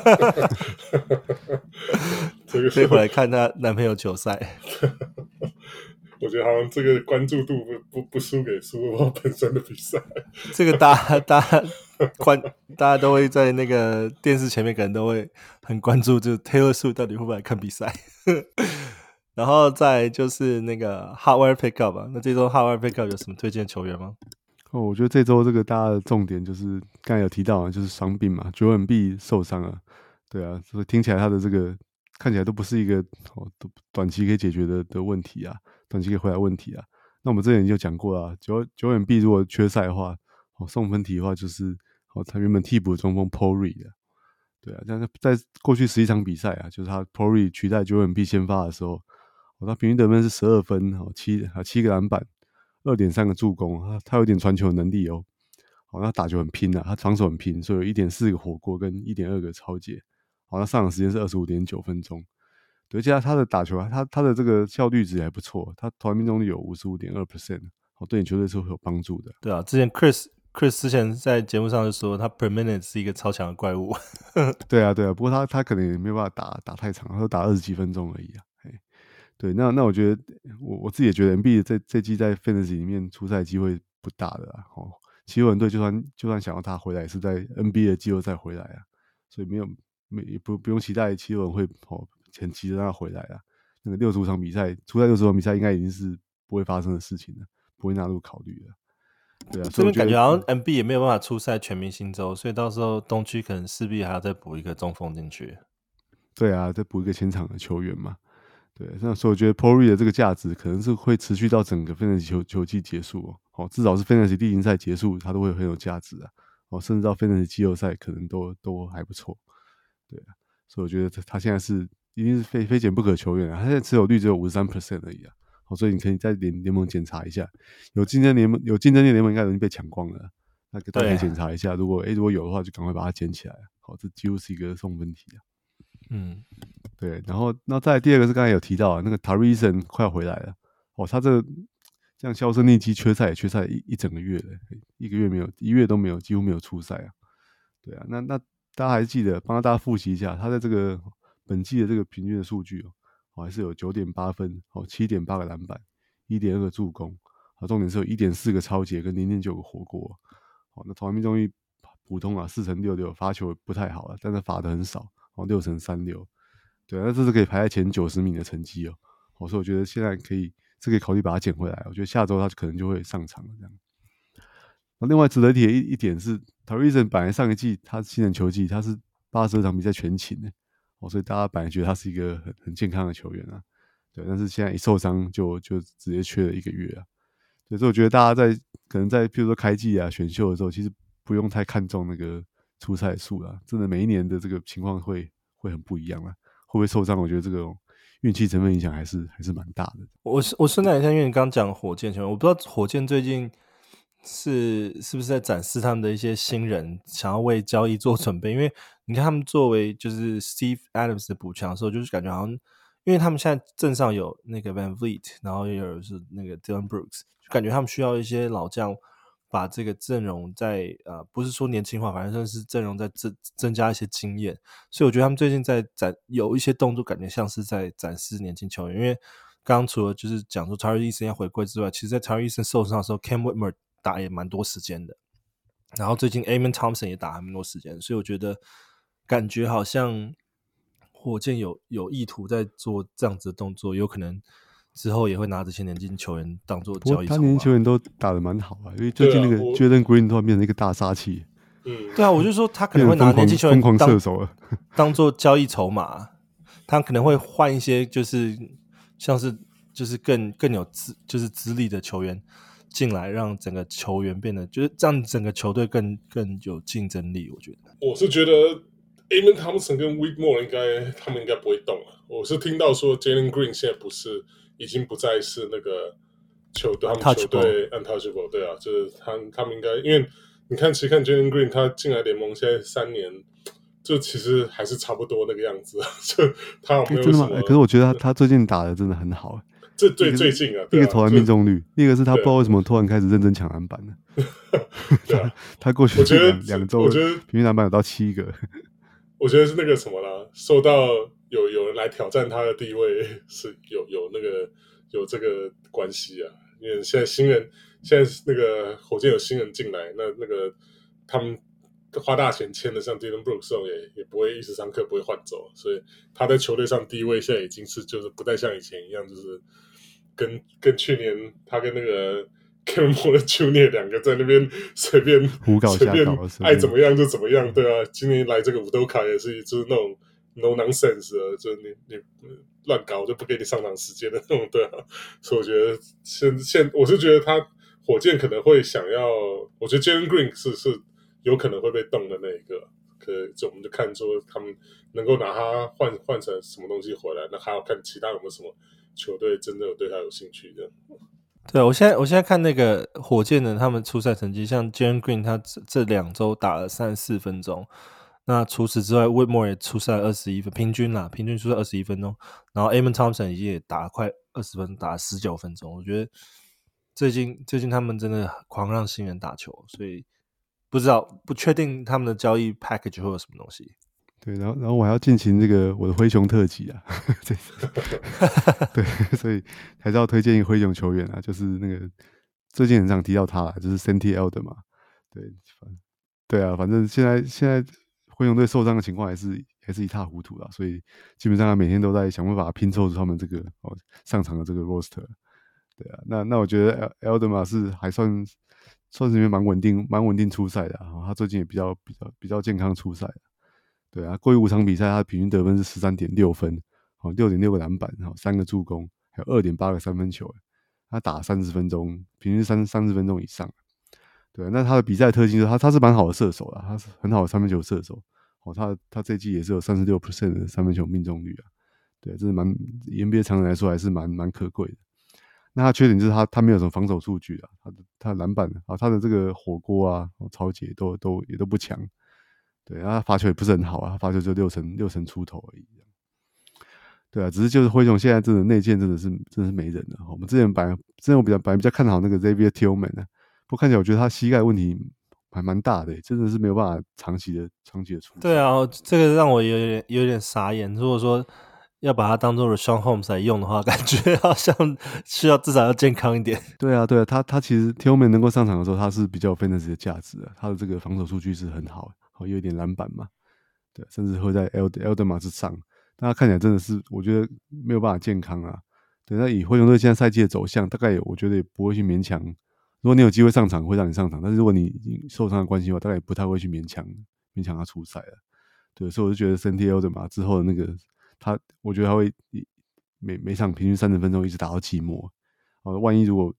飛回來看她男朋友球賽？ 我覺得好像這個關注度不輸給 Super Bowl 本身的比賽。這個大家都會在那個電視前面，可能都會很關注，就是 Taylor Swift 到底會不會來看比賽。然後再就是那個 Hotwire Pickup 啊，那這週 Hotwire Pickup 有什麼推薦球員嗎？ 我覺得這週這個大家的重點就是剛才有提到啊，就是傷病嘛，Joel Embiid受傷了，對啊，所以聽起來他的這個看起來都不是一個短期可以解決的問題啊，短期可以回來問題啊。那我們之前就講過了，Joel Embiid如果缺賽的話，送分題的話就是他原本替補的中鋒 Paul Reed 啊，對啊，但是在過去11場比賽啊，就是他 Paul Reed 取代 Joel Embiid 先發的時候，他平均得分是12分，7個籃板。2.3 個助攻，他有點傳球能力哦。 好，那打球很拼啊，他防守很拼，所以有 1.4 個火鍋跟 1.2 個抄截。好，那上場時間是 25.9 分鐘。對，而且他的打球他的這個效率值還不錯，他投籃命中率有 55.2%， 好，對你球隊是會有幫助的。 对啊，之前 Chris 之前在節目上就說他 per minute 是一個超強的怪物。 对啊，不過他可能也沒有辦法打太長，他都打20幾分鐘而已啊。對，那我覺得我自己也覺得 Embiid 這季在 Fantasy 裡面出賽機會不大的啦。哦，七六人隊就算想要他回來，也是在 NBA 的季後賽回來啊，所以也不用期待七六人會很急着讓他回來啊。那個65場比賽，出賽60場比賽，應該已經是不會發生的事情了，不會納入考慮了。對啊， 這邊感覺好像 MB 也沒有辦法出賽全明星週，所以到時候東區可能勢必還要再補一個中鋒進去。 對啊，再補一個前場的球員嘛。對，那所以我覺得 Paul Reed 的這個價值可能是會持續到整個 Fantasy 球季結束哦。至少是 Fantasy 例行賽結束，它都會很有價值啊。哦，甚至到 Fantasy 季後賽可能都還不錯。對啊，所以我覺得他現在是一定是非減不可球員啊。他現在持有率只有 53% 而已啊。好，所以你可以在聯盟檢查一下，有競爭力的聯盟應該已經被搶光了。那大家可以檢查一下，如果有的話，就趕快把它撿起來。好，這幾乎是一個送分題啊。 嗯， 對，然後那再來第二個是剛才有提到啊，那個 Tari Eason 快要回來了哦，他這樣销聲匿跡，缺賽一整個月了，1個月沒有，1月都沒有，幾乎沒有出賽啊。對啊，那大家還記得幫大家複習一下，他在這個本季的這個平均的數據哦，還是有 9.8 分哦， 7.8 個籃板， 1.2 個助攻，重點是有 1.4 個抄截跟 0.9 個火鍋。好，那投籃命中率普通啊，4.66%，罰球不太好了，但是罰的很少，6.36%。對啊，那這是可以排在前90名的成績哦。所以我覺得現在可以考慮把它撿回來。我覺得下周他可能就會上場了這樣。那另外值得提的一點是 Tari Eason 本來上一季他新人球季他是82場比賽全勤的所以大家本來覺得他是一個很健康的球員啊。對，但是現在一受傷就直接缺了1個月啊。所以我覺得大家可能在譬如說開季啊選秀的時候，其實不用太看重那個出賽數啦。真的每一年的這個情況會很不一樣啊。會不會受傷？我覺得這個運氣成分影響還是蠻大的。 我順帶一下，因為你剛講火箭球員，我不知道火箭最近是不是在展示他們的一些新人，想要為交易做準備。因為你看他們作為就是 Steve Adams 的補強的時候，就是感覺好像，因為他們現在陣上有那個 Van Vliet，然後也有是那個 Dillon Brooks，就感覺他們需要一些老將。把這個陣容在不是說年輕化，反正是陣容在增加一些經驗，所以我覺得他們最近在有一些動作，感覺像是在展示年輕球員。因為剛剛除了就是講說 Tari Eason 要回歸之外，其實在 Tari Eason 受傷的時候 ，Cam Whitmore 打也蠻多時間的，然後最近 Amen Thompson 也打蠻多時間，所以我覺得感覺好像火箭有意圖在做這樣子的動作，有可能。之後也會拿這些年輕球員當做交易籌碼。 他年輕球員都打得蠻好啊，因為最近那個 Jalen Green 突然變成一個大殺器。 對啊，我就說他可能會拿年輕球員瘋狂射手了， 當做交易籌碼。他可能會換一些就是像是就是更有就是資歷的球員進來，讓整個球員變得就是讓整個球隊更有競爭力。 我是覺得 Amen Thompson 跟 Whitmore 他們應該不會動了。我是聽到說 Jalen Green 現在已經不再是那個他們球隊 untouchable， 对啊，就是他們應該，因為你看，其實看 Jalen Green 他進來聯盟現在3年，就其實還是差不多那個樣子，就他有沒有什麼？ 真的嗎？可是我覺得他最近打的真的很好， 這最近啊， 一個投籃命中率，一個是他不知道為什麼突然開始認真搶籃板了。對啊，他過去兩周平均籃板有到7個。 我覺得是那個什麼啦，受到有人來挑戰他的地位是有這個關係啊，因為現在那個火箭有新人進來，那個他們花大錢簽的，像 Dillon Brooks 也不會一時三刻不會換走，所以他在球隊上地位現在已經是就是不再像以前一樣，就是跟去年他跟那個 Kevin Porter Jr. 兩個在那邊隨便胡搞瞎搞， 愛怎麼樣就怎麼樣，對啊，今年來這個伍德卡也是就是那種 no nonsense 的，就是你亂搞就不給你上場時間的那種，對啊，所以我覺得我是覺得他火箭可能會想要，我覺得 Jalen Green 是有可能會被動的那一個，就我們就看說他們能夠拿他換成什麼東西回來，那還要看其他有沒有什麼球隊真的有對他有興趣的。 對，我現在看那個火箭的他們出賽成績，像 Jalen Green 他這2周打了34分鐘，那除此之外 ，Whitmore 也出賽21分，平均出赛21分鐘，然後 Amen Thompson 也打了快20分，打了19分鐘。我覺得最近他們真的狂讓新人打球，所以不確定他们的交易 package 會有什麼東西。 对，然後我還要進行這個我的灰熊特輯啊，對，所以還是要推薦一個灰熊球員啊，就是那個最近很常提到他啦，就是 Santi Aldama 嘛，對啊，反正現在灰熊隊受傷的情況還是一塌糊塗啦，所以基本上他每天都在想辦法拼湊出他們這個上場的這個 roster， 對啊，那我覺得 Aldama 是還算是裡面蠻穩定出賽的啊，他最近也比較健康出賽。对啊，過去5場比賽，他的平均得分是 13.6 分，6.6 個籃板，3個助攻，還有 2.8 個三分球。他打30分鐘，平均30分鐘以上。對啊，那他的比賽特性就是他是蠻好的射手啦，他是很好的三分球射手。他這一季也是有 36% 的三分球命中率啊。對，這是以 NBA 常人來說還是蠻可貴的。那他缺點就是他沒有什麼防守數據啊，他的籃板啊，他的這個火鍋啊、抄截也都不強。對啊，他罰球也不是很好啊，他罰球就六成出頭而已。對啊，只是就是灰熊現在真的內線真的是沒人了。我們之前我比較看好那個 Xavier Tillman 啊，不過看起來我覺得他膝蓋問題還蠻大的，真的是沒有辦法長期的出。 對啊，這個讓我有點傻眼。如果說要把它當做 Rashawn Holmes 來用的話，感覺好像需要至少要健康一點。 對啊，他其實 Tillman 能夠上場的時候，他是比較有 fantasy 的價值的，他的這個防守數據是很好，有一點籃板嘛，對，甚至會在 Aldama 之上。但他看起來真的是，我覺得沒有辦法健康啊。對，那以灰熊隊現在賽季的走向，大概我覺得也不會去勉強。如果你有機會上場，會讓你上場；但是如果你受傷的關係的話，大概也不太會去勉強他出賽了。對，所以我就覺得 Santi Aldama 之後的那個我覺得他會每場平均30分鐘一直打到季末。萬一如果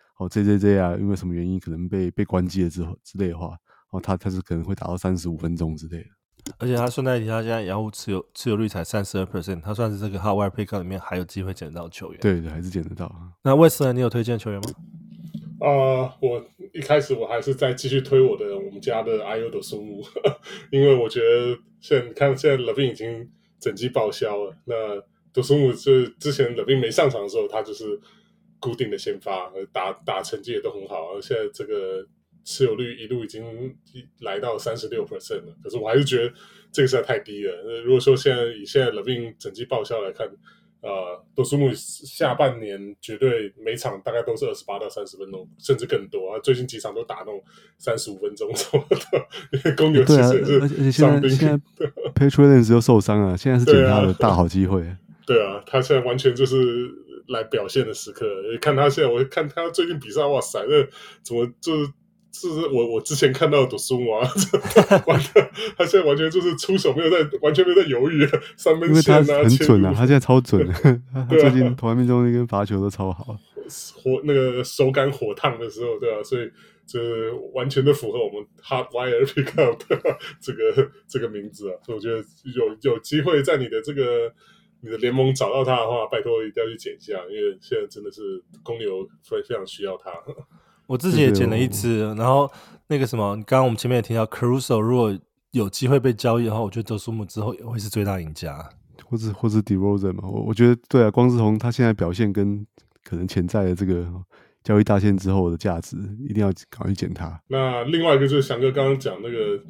JJJ 啊，因為什麼原因可能被關機了之類的話，他是可能會打到35分鐘之類的。 而且他順帶一提，他現在洋戶持有率才 32%， 他算是這個 Hot Wire Pickup 裡面還有機會撿得到球員。 對，還是撿得到。 那魏斯呢？你有推薦球員嗎？ 我一開始我還是在繼續推我們家的 Ayo Dosunmu，因為我覺得現在 Levine 已經整季報銷了。那 Dosunmu 就是之前 Levine 沒上場的時候，他就是固定的先發，打成績也都很好。而現在這個持有率一路已經來到 36% 了，可是我還是覺得這個實在太低了。如果說以現在 Levine 整季報銷來看，Dosunmu 下半年絕對每場大概都是28到30分鐘，甚至更多啊！最近幾場都打那種35分鐘什麼的，因為公牛其實也是傷兵。 現在 Patrick Williams 又受傷了，現在是撿他的大好機會。 對啊，他現在完全就是來表現的時刻。看他現在，我看他最近比賽，哇塞，那怎麼就是我之前看到的Dosunmu啊，他現在完全就是出手完全沒有在猶豫，三分線啊， 因為他很準啊，他現在超準的，他最近投籃命中率跟罰球都超好， 那個手感火燙的時候，對啊，所以就是完全的符合我們 Hot Wire Pickup 的這個名字啊，所以我覺得有機會在你的聯盟找到他的話，拜託一定要去撿一下，因為現在真的是公牛非常需要他。 我自己也撿了一支，然後那個什麼，剛剛我們前面也提到 Caruso 如果有機會被交易的話，我覺得Dosunmu之後也會是最大贏家，或是 DeRozan 嘛。我覺得對啊，光是從他現在表現跟可能潛在的這個交易大限之後的價值，一定要趕快撿他。 那另外一個就是翔哥剛剛講那個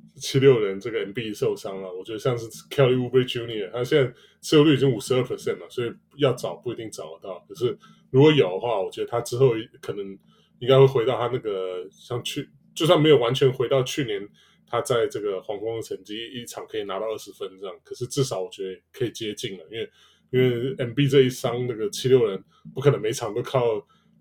76人這個 Embiid 受傷了，我覺得像是 Kelly Oubre Jr. 他現在持有率已經 52% 了，所以要找不一定找得到。可是如果有的話，我覺得他之後可能應該會回到他那個就算沒有完全回到去年他在這個黃蜂的成績，一場可以拿到20分這樣，可是至少我覺得可以接近了，因為 Embiid 這一傷，那個76人不可能每場都靠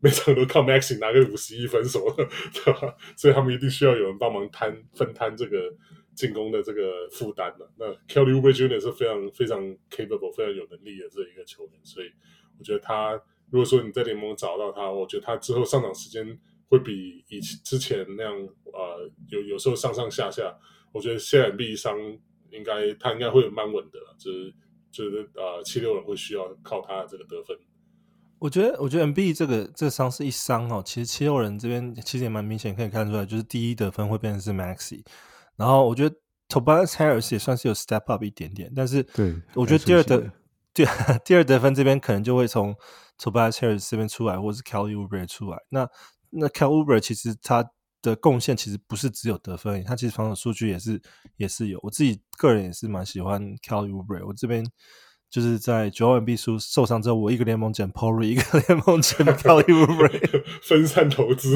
Maxey 拿個51分什麼的，對吧？所以他們一定需要有人幫忙分攤這個進攻的這個負擔的。那 Kelly Oubre Jr. 是非常非常 capable、非常有能力的這一個球員，所以我覺得他。如果說你在聯盟找到他，我覺得他之後上場時間會比之前那樣，有時候上下。我覺得現在Embiid傷他應該會蠻穩的，就是76人會需要靠他這個得分。 我覺得 Embiid 這個傷是一傷哦，其實七六人這邊其實也蠻明顯可以看出來，就是第一得分會變成是 Maxey， 然後我覺得 Tobias Harris 也算是有 step up 一點點，但是我覺得第二得分這邊可能就會從 Tobias Harris 這邊出來，或者是 Kelly Oubre 出來。那 Kelly Oubre 其實他的貢獻其實不是只有得分，他其實防守數据也是有。我自己個人也是蠻喜歡 Kelly Oubre， 我這邊就是在Joel Embiid受傷之後，我一個聯盟撿 Paul Reed， 一個聯盟撿 Kelly Oubre， 分散投資。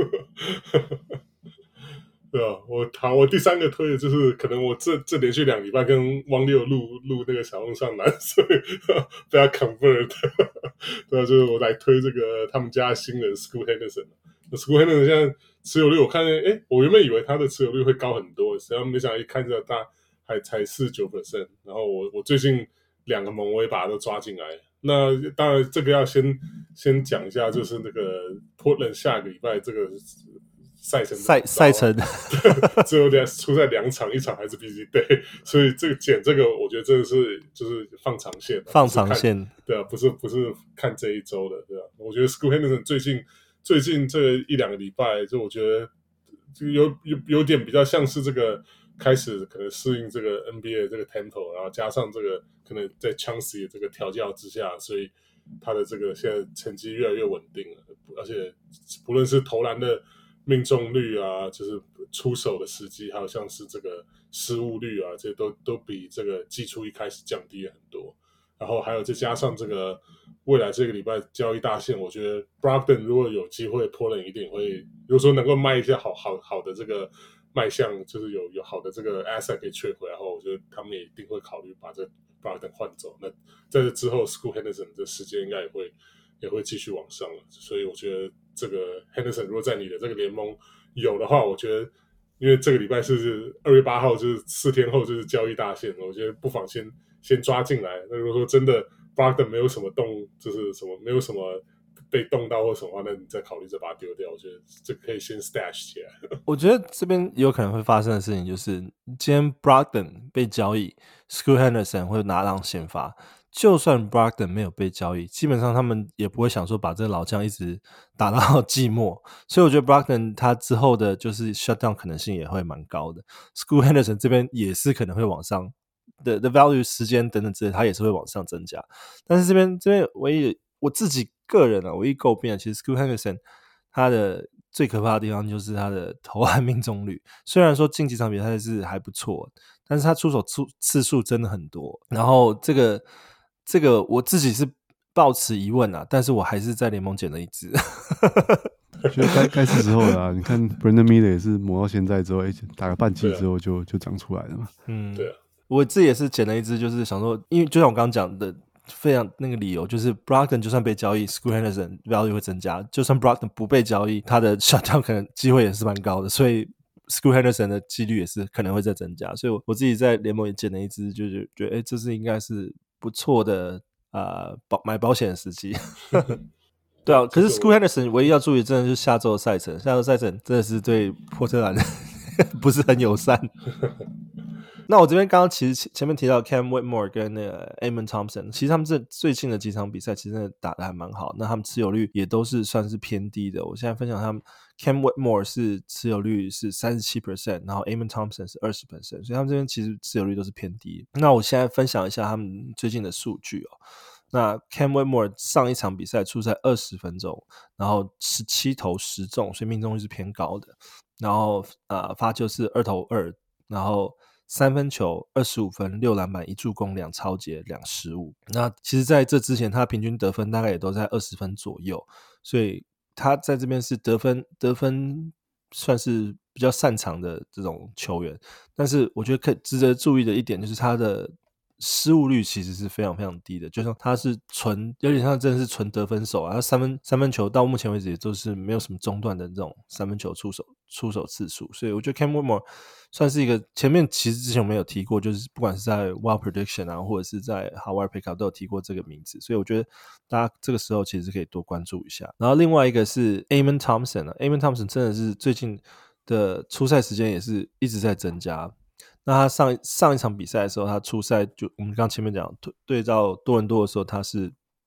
对啊，我第三個推的就是可能我這連續2禮拜跟汪六錄那個小紅上籃，所以被他 convert。對啊，就是我來推這個他們家的新人 Scoot Henderson。Scoot Henderson 現在持有率，我看見我原本以為他的持有率會高很多，實際上沒想到一看着他還才 49%。然後我最近2個盟我也把他都抓進來。那當然這個要先講一下，就是那個 Portland 下個禮拜這個賽程只有出在2場，1場還是 busy day， 所以這個我覺得真的是就是放長線，对啊，不是看這一周的，对啊。我覺得 Scoot Henderson 最近這1-2個禮拜，就我覺得有點比較像是這個開始可能適應這個 NBA 的這個 tempo， 然後加上這個可能在 Chauncey 的這個調教之下，所以他的這個現在成績越來越穩定了，而且不論是投籃的命中率啊，就是出手的時機，還有像是這個失誤率啊，這些都比這個季初一開始降低了很多。然後還有再加上這個未來這個禮拜交易大限，我覺得 Brogdon 如果有機會 Portland 一定會，如果說能夠賣一些好的這個賣相，就是有好的這個 asset 可以trade回來後，我覺得他們也一定會考慮把這 Brogdon 換走。那在這之後 Scoot Henderson 的時間應該也會繼續往上了，所以我覺得這個 Henderson 如果在你的這個聯盟有的話，我覺得因為這個禮拜是2月8號，就是4天後就是交易大限，我覺得不妨先抓進來。那如果說真的 Brogdon 沒有什麼就是什麼沒有什麼被動到或什麼話，那你再考慮再把它丟掉。我覺得這可以先 stash 起來。 我覺得這邊有可能會發生的事情就是今天 Brogdon 被交易 Scoot Henderson 會拿讓先發，就算 Brogdon 沒有被交易，基本上他們也不會想說把這個老將一直打到季末，所以我覺得 Brogdon 他之後的就是 shutdown 可能性也會蠻高的。Scoot Henderson 這邊也是可能會往上的 value 時間等等之類，他也是會往上增加。但是這邊唯一我自己個人啊，唯一詬病的，其實 Scoot Henderson 他的最可怕的地方就是他的投籃命中率，雖然說近幾場比賽是還不錯，但是他出手次數真的很多。然後這個我自己是抱持疑問啊，但是我還是在聯盟撿了一支。 覺得該是時候了啊。你看 Brandon Miller 也是磨到現在之後，打個半季之後就長出來了嘛。 对啊， 我自己也是撿了一支，就是想說，因为就像我剛剛講的，非常那個理由，就是 Brogdon 就算被交易 ，Scoot Henderson value 會增加；就算 Brogdon 不被交易，他的 shutdown 可能機會也是蠻高的，所以 Scoot Henderson 的幾率也是可能會再增加。所以我自己在聯盟也撿了一支，就是覺得這是應該是不錯的買保險的時機。對啊，可是 Scoot Henderson 唯一要注意，真的就是下周的賽程，下周賽程真的是對波特蘭不是很友善。那我這邊剛剛其實前面提到 Cam Whitmore 跟那個 Amen Thompson， 其實他們最近的幾場比賽其實真的打得還蠻好，那他們持有率也都是算是偏低的。我現在分享他們 Cam Whitmore 是持有率是 37%， 然後 Amen Thompson 是 20%， 所以他們這邊其實持有率都是偏低。那我現在分享一下他們最近的數據哦。那 Cam Whitmore 上一場比賽出赛20分鐘，然後17投10中，所以命中率是偏高的。然後發球是2投2，然後3分球25分6籃板1助攻2抄截2失誤。那其實在這之前他平均得分大概也都在20分左右，所以他在這邊是得分算是比較擅長的這種球員。但是我覺得值得注意的一點就是他的失誤率其實是非常非常低的，就像他是有點像真的是純得分手啊，他三分球到目前為止也都是沒有什麼中断的这種三分球出手次數，所以我覺得 Cam Whitmore 算是一個前面其實之前我們有提過，就是不管是在 Wild Prediction 啊，或者是在 Howard Pickup 都有提過這個名字，所以我覺得大家這個時候其實可以多關注一下。然後另外一個是 Amen Thompson 啊 ，Amen Thompson 真的是最近的出賽時間也是一直在增加。那他上一場比賽的時候，他出賽就我們剛前面講對照多倫多的時候，他是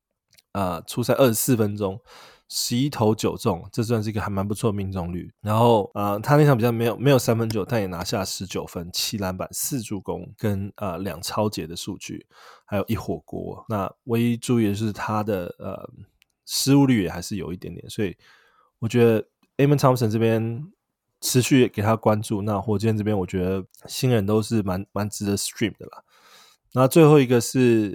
出賽24分鐘，11投9中，這算是一個還蠻不錯的命中率。然後他那場比賽沒有三分球，但也拿下19分、7籃板、4助攻跟2抄截的數據，還有1火鍋。那唯一注意的是他的失誤率也還是有一點點，所以我覺得 Amen Thompson 這邊持續給他關注。那火箭這邊我覺得新人都是蠻值得 stream 的啦。那最後一個是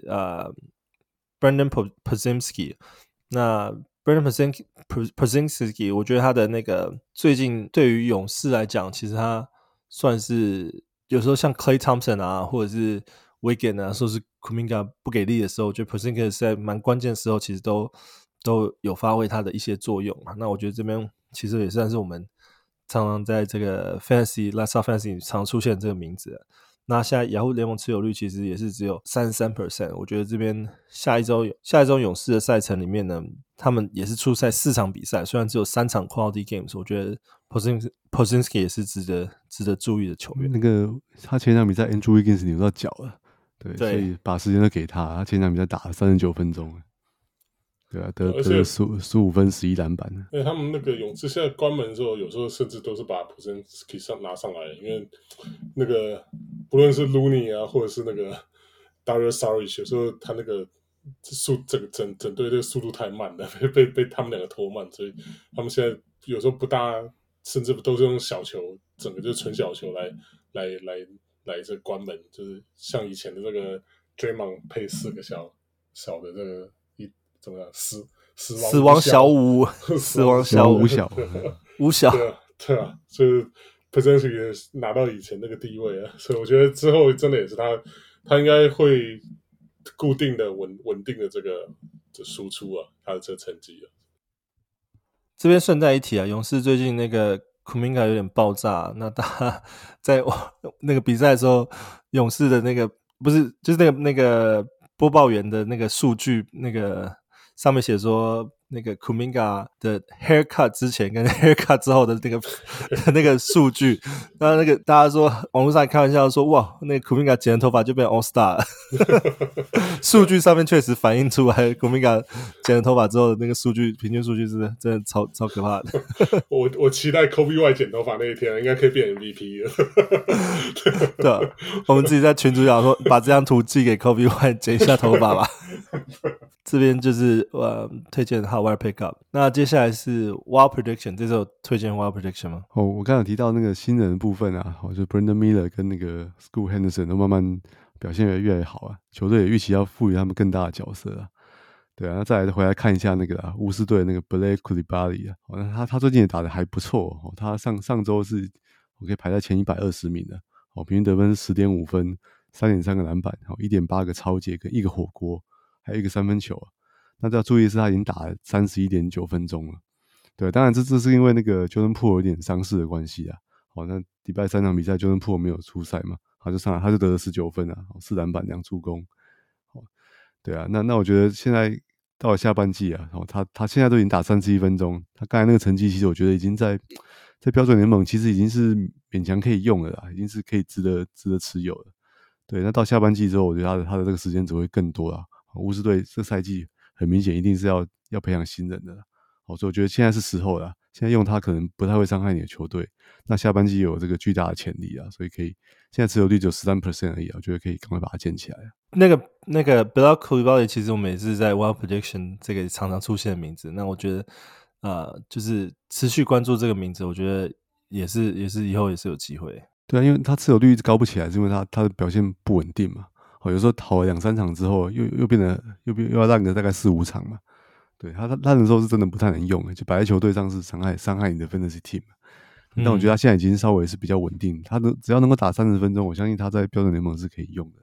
Brandon Podziemski， 那 Brandon Podziemski 我覺得他的那個最近對於勇士來講，其實他算是有時候像 Klay Thompson 啊，或者是 Wiggins 啊，說是 Kuminga 不給力的時候，我覺得 Podziemski 在蠻關鍵的時候其實都有發揮他的一些作用。那我覺得這邊其實也算是我們常常在這個 Fantasy Last Shot Fantasy 常出現這個名字。那現在雅虎聯盟持有率其實也是只有 33%， 我覺得這邊下一周勇士的賽程裡面呢，他們也是出賽4場比賽，雖然只有3場 quality games， 我覺得 Podziemski 也是值得注意的球員。 那個他前場比賽 Andrew Wiggins 扭到腳了，對，所以把時间都給他前場比賽打了39分鐘，对啊，得15分11籃板。 因為他們那個勇士現在關門的時候，有時候甚至都是把 Podziemski 拿上來，因為那个不論是 Looney 啊，或者是那個 Dario Saric， 有時候他那個整隊這個速度太慢了，被他們兩個拖慢，所以他們現在有時候不大，甚至都是用小球，整個就是純小球來這關門，就是像以前的這個 Draymond 配4個小的這個怎麼樣？死亡小五， 死亡小五小， 對啊，就是 Podziemski 也拿到以前那個地位啊，所以我覺得之後真的也是他應該會固定的穩定的這個輸出啊，他的這個成績啊。 這邊順帶一提啊，勇士最近那個 Kuminga 有點爆炸，那他在那個比賽的時候，勇士的那個不是就是那個播報員的那個數據那個。上面寫說那個 Kuminga 的 haircut 之前跟 haircut 之後的那個數據，那個大家說網絡上開玩笑說，哇，那個 Kuminga 剪了頭髮就變 All Star 了。數據上面確實反映出來 Kuminga 剪了頭髮之後的那個數據平均數據真的超可怕的。 我期待 Kobe White 剪頭髮那一天應該可以變 MVP 了。 對啊，我們自己在群組講說，把這張圖寄給 Kobe White 剪一下頭髮吧。這邊就是推薦的 Hotwire Pickup。那接下來是 Wild Prediction， 這時候推薦 Wild Prediction 嗎？ 我剛才有提到那個新人的部分啊，就 Brandon Miller 跟那個 Scoot Henderson 都慢慢表現越來越好啊，球隊也預期要賦予他們更大的角色啊。對啊，那再來回來看一下那個巫師隊的那個 Blake Coulibaly 啊，那他最近也打得還不錯哦，他上周是可以排在前120名的，平均得分是 10.5 分， 3.3 個籃板，1.8 個抄截跟1個火鍋，還有1個三分球啊。那要注意的是他已經打了 31.9 分鐘了。對，當然這是因為那個 Jordan Poole 有點傷勢的關係啊。那禮拜3場比賽 Jordan Poole 沒有出賽嘛，他就上來他就得了19分啊，4籃板2助攻。對啊，那我覺得現在到了下半季啊，他現在都已經打31分鐘，他剛才那個成績其實我覺得已經在標準聯盟其實已經是勉強可以用了啦，已經是可以值得持有了。對，那到下半季之後，我覺得他的這個時間只會更多啦。巫師隊這賽季很明顯一定是要培養新人的啦，所以我覺得現在是時候啦，現在用他可能不太會傷害你的球隊，那下半季有這個巨大的潛力啊，所以可以現在持有率只有 13% 而已啊，我覺得可以趕快把它撿起來。 那個 Blake Coulibaly 其實我們也是在 Wild Prediction 這個常常出現的名字，那我覺得就是持續關注這個名字，我覺得也是以後也是有機會。 對啊，因為他持有率一直高不起來，是因為他的表現不穩定嘛。有時候投了2-3場之後，又變得又要爛個大概4-5場嘛。對，他爛的時候是真的不太能用，就擺在球隊上是傷害你的 Fantasy Team。但我覺得他現在已經稍微是比較穩定，他只要能夠打30分鐘，我相信他在標準聯盟是可以用的。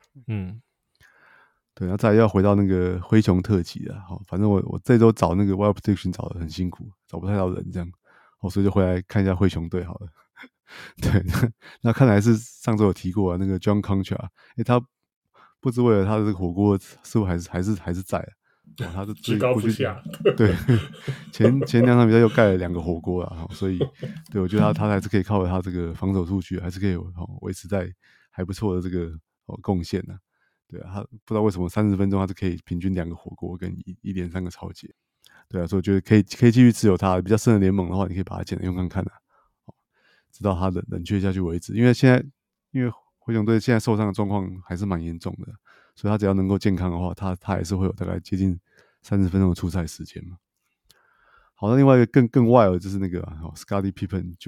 對，那再來要回到那個灰熊特輯了。反正我這周找那個 Wild Prediction 找得很辛苦，找不太到人這樣，所以就回來看一下灰熊隊好了。對，那看來是上周有提過啊，那個 John Concha， 他不知為了他的這個火鍋似乎還是在啊，他的居高不下。 對，前2場比賽又蓋了2個火鍋啊，所以對我覺得他還是可以靠着他這個防守數據，還是可以維持在還不錯的這個貢獻啊。 對啊，他不知道為什麼30分鐘他是可以平均2個火鍋跟一連3個抄截。對啊，所以我覺得可以繼續持有它。比較深的聯盟的話，你可以把它撿來用看看直到它冷卻下去為止。因為灰熊隊現在受傷的狀況還是蠻嚴重的，所以他只要能夠健康的話，他還是會有大概接近30分鐘的出賽時間嘛。好，那另外一個更 wild 就是那個Scottie Pippen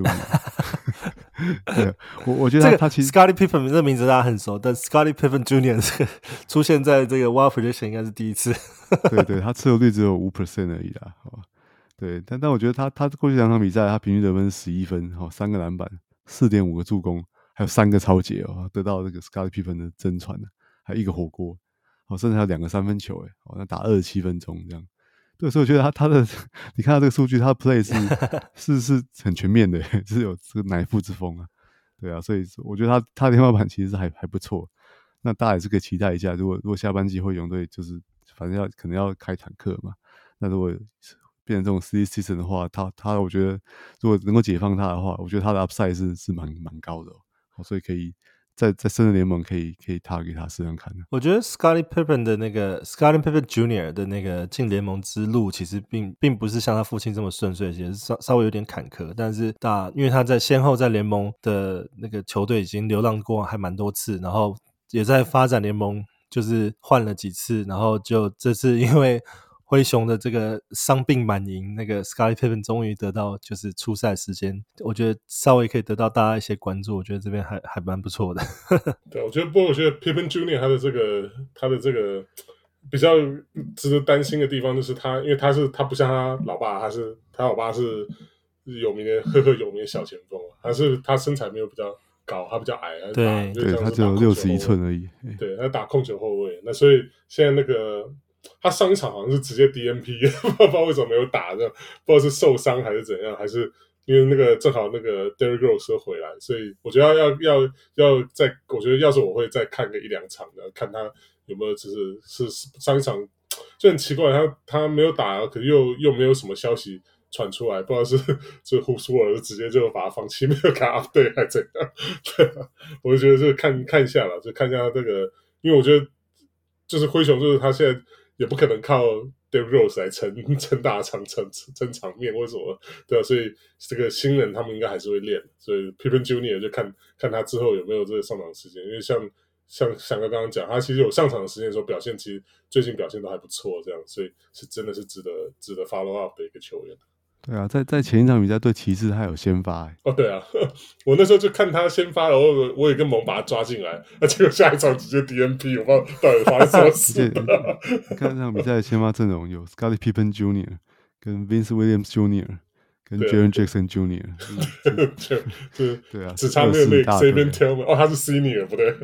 Jr. 對，我覺得他其實 Scottie Pippen 這個名字大家很熟，但 Scottie Pippen Jr. 這個出現在這個 Wild Prediction 應該是第一次。 對，他持有率只有 5% 而已啦。對，但我覺得他過去2場比賽，他平均得分是11分，3個籃板，4.5個助攻，還有3個抄截得到這個 Scottie Pippen 的真傳，還有1個火鍋，甚至還有2個3分球，那打27分鐘這樣。對，所以我覺得他的，你看他這個數據，他的 play 是很全面的，就是有這個乃父之風啊。對啊，所以我覺得他的天花板其實是還不錯。那大家也是可以期待一下，如果下半季灰熊隊就是反正可能要開坦克嘛，那如果變成這種 silly season 的話，他我覺得如果能夠解放他的話，我觉得他的 upside 是蠻高的所以可以在深的聯盟可以 target 他試試看的。 我覺得 Scottie Pippen 的那個 Scottie Pippen Jr. 的那個進聯盟之路，其實並不是像他父親這麼順遂，其實稍微有點坎坷。但是因為他先後在聯盟的那個球隊已經流浪過還蠻多次，然後也在發展聯盟就是換了幾次，然後就這次因為灰熊的這個傷病滿營，那個 Scottie Pippen 終於得到就是出賽時間，我覺得稍微可以得到大家一些關注，我覺得這邊還蠻不錯的。 對，我觉得 Pippen Jr. 他的這個比較值得擔心的地方就是因為他不像他老爸，他老爸是有名的赫赫有名的小前鋒，他身材沒有比較高，他比較矮， 对，他只有61寸而已。 对，他打控球後衛，那所以現在那個。他上一場好像是直接 DNP， 不知道為什麼沒有打，不知道是受傷還是怎樣，還是因為那個正好那個 Derrick Rose 回來，所以我覺得要再，我覺得要是我會再看個1-2場的，看他有沒有是上一場就很奇怪，他沒有打，可是又沒有什麼消息傳出來，不知道是就胡蘇爾直接就把他放棄，沒有給他 update 還怎樣？對啊，我就覺得就看一下了，就看一下他這個，因為我覺得就是灰熊，就是他現在。也不可能靠 Derrick Rose 來撐大場、撐場面或什麼，對啊，所以這個新人他們應該還是會練，所以 Pippen Jr. 就看他之後有沒有這個上場時間，因為像翔哥剛剛講，他其實有上場的時間的時候表現，其實最近表現都還不錯，這樣，所以是真的是值得 follow up 的一個球員。 對啊，在前一場比賽對騎士他有先發哦，对啊，我那時候就看他先發，然後我也跟蒙把他抓進來，結果下一場直接 DNP， 我不知道到底發生什麼事。 你看這場比賽的先發陣容有 Scottie Pippen Jr. 跟 Vince Williams Jr. 跟 Jaren Jackson Jr. 對啊， 只差那個 Saben Tillman， 他是 Senior 不对。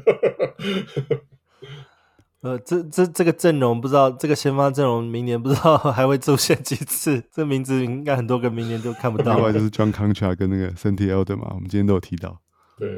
這個陣容不知道，這個先發陣容明年不知道還會出現幾次，這名字應該很多個明年都看不到。 另外就是 John Concha 跟那個 Santi Aldama 嘛，我們今天都有提到。 對。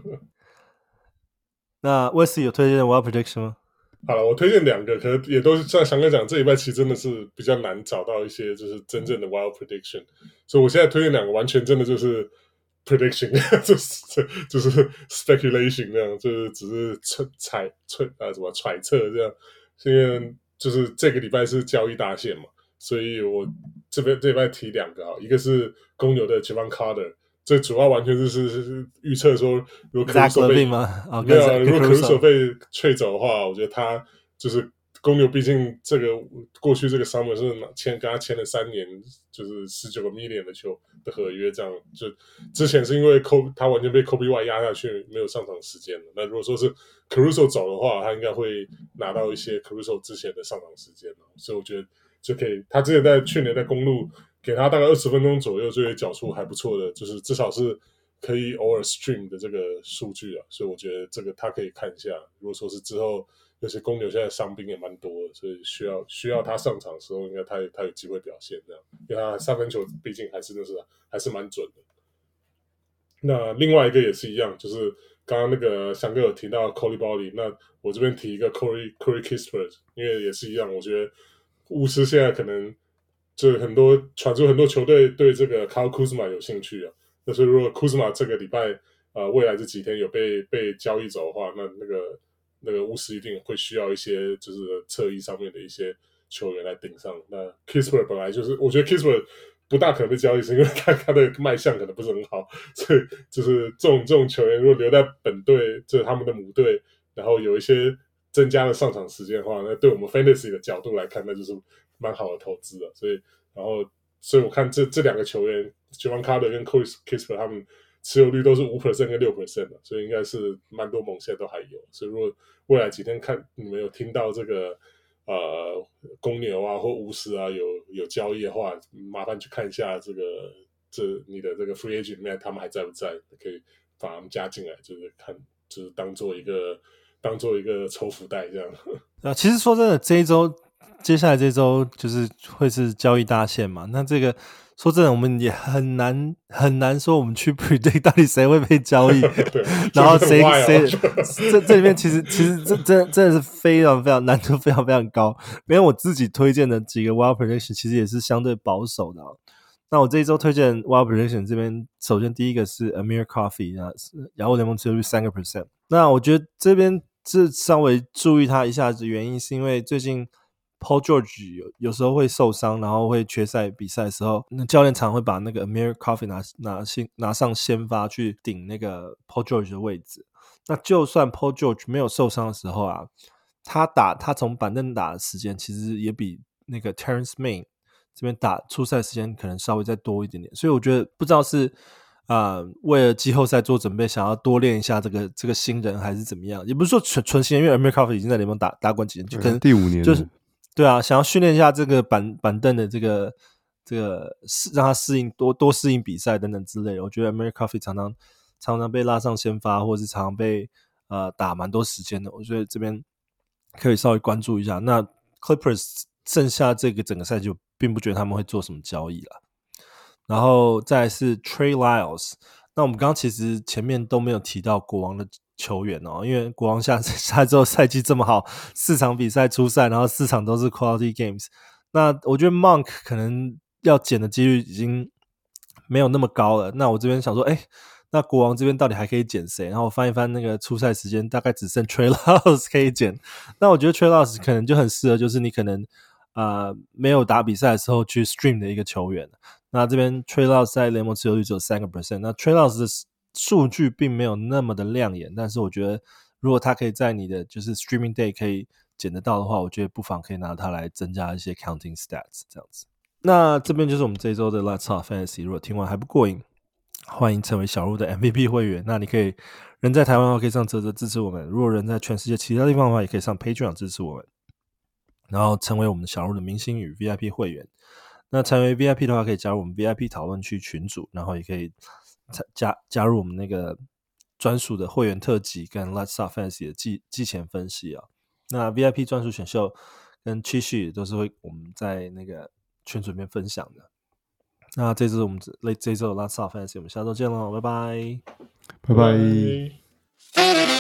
那 Wesley 有推薦的 Wild Prediction 嗎？ 好了，我推薦2個，可能也都是像翔哥講，這禮拜其實真的是比較難找到一些就是真正的 Wild Prediction，所以我現在推薦2個，完全真的就是。prediction 就是 speculation 那樣，就是只是揣測這樣，因為就是這個禮拜是交易大限嘛，所以我這禮拜提2個啊，一個是公牛的 Jevon Carter， 這主要完全是預測說，如果Caruso被Caruso被trade走的話，我覺得他就是公牛，畢竟這個過去這個 summer 是跟他簽了3年，就是19個 million 的合約，這樣就之前是因為他完全被 Kobe White 壓下去，沒有上場時間了。那如果說是 Caruso 走的話，他應該會拿到一些 Caruso 之前的上場時間，所以我覺得就可以。他之前去年在公鹿給他大概20分鐘左右，就會繳出還不錯的，就是至少是可以偶爾 stream 的這個數據啊。所以我覺得這個他可以看一下。如果說是之後。尤其公牛現在傷兵也蠻多的，所以需要他上場的時候，應該他有機會表現這樣，因為他3分球畢竟還是蠻準的。那另外一個也是一樣，就是剛剛那個翔哥有提到 Coulibaly， 那我這邊提一個 Corey Kispert， 因為也是一樣，我覺得巫師現在可能就傳出很多球隊對這個 Kyle Kuzma 有興趣啊。那所以如果 Kuzma 這個禮拜未來這幾天有被交易走的話，那個那個巫師一定會需要一些就是側翼上面的一些球員來頂上。那 Kispert 本來就是我覺得 Kispert 不大可能被交易，是因为他的賣相可能不是很好，所以就是这种球员如果留在本队，就是他们的母队，然後有一些增加了上场时间的話，那对我們 Fantasy 的角度來看，那就是蠻好的投資了。所以我看這兩個球員 Jevon Carter 跟 Corey Kispert 他們持有率都是 5% 跟 6% 的，所以應該是蠻多盟現在都還有。所以如果未來幾天看你們有聽到這個公牛啊或巫師啊有交易的話，麻煩去看一下你的這個 free agent 裡面他們還在不在，可以把他們加進來，就是看就是當做一個抽福袋這樣。 其實說真的，接下來這一周就是會是交易大限嘛。那這個說真的，我們也很難說我們去 predict 到底誰會被交易，然後誰這裡面其實真的是非常非常難度非常非常高。因為我自己推薦的幾個 wild prediction 其實也是相對保守的。那我這一周推薦 wild prediction 這邊，首先第一個是 Amir Coffey， 雅虎聯盟持有率 3%。那我覺得這邊是稍微注意他一下子，原因是因為最近Paul George 有時候會受傷，然後會缺賽比賽的時候，那教練常會把那個 Amir Coffey 拿上先發去頂那個 Paul George 的位置。那就算 Paul George 沒有受傷的時候啊，他從板凳打的時間其實也比那個 Terrence Mann 這邊打出賽時間可能稍微再多一點點。所以我覺得不知道是為了季後賽做準備，想要多練一下這個新人還是怎麼樣，也不是說純新人，因為 Amir Coffey 已經在聯盟打過幾年，就可能第5年就是對啊，想要訓練一下這個板凳的這個讓他適應多適應比賽等等之類的。我覺得 Amir Coffey 常常被拉上先發，或是常常被打蠻多時間的。我覺得這邊可以稍微關注一下。那 Clippers 剩下這個整個賽季，我並不覺得他們會做什麼交易啦。然後再來是 Trey Lyles。那我們剛剛其實前面都沒有提到國王的球員哦，因為國王下之後賽季這麼好，4場比賽出賽，然後4場都是 quality games。那我覺得 Monk 可能要撿的幾率已經沒有那麼高了。那我這邊想說，那國王這邊到底還可以撿誰？然後我翻一翻那個出賽時間，大概只剩 Trey Lyles 可以撿。那我覺得 Trey Lyles 可能就很適合，就是你可能沒有打比賽的時候去 stream 的一個球員。那這邊 Trey Lyles 在聯盟持有率只有 3%。那 Trey Lyles 的數據並沒有那麼的亮眼，但是我覺得如果他可以在你的就是 streaming day 可以撿得到的話，我覺得不妨可以拿它來增加一些 counting stats 這樣子。那這邊就是我們這一周的 Let's Talk Fantasy。如果聽完還不過癮，歡迎成為小鹿的 MVP 會員。那你可以人在台灣的話可以上嘖嘖支持我們，如果人在全世界其他地方的話也可以上 Patreon 支持我們，然後成為我們小鹿的明星與 VIP 會員。那成為 VIP 的話可以加入我們 VIP 討論區群組，然後也可以加入我們那個專屬的會員特輯跟 Let's Talk Fantasy 的季前分析啊。那 VIP 專屬選秀跟cheat sheet都是會我們在那個群組裡面分享的。那這是我們這一周的 Let's Talk Fantasy，我們下周見嘍，拜拜， 拜拜。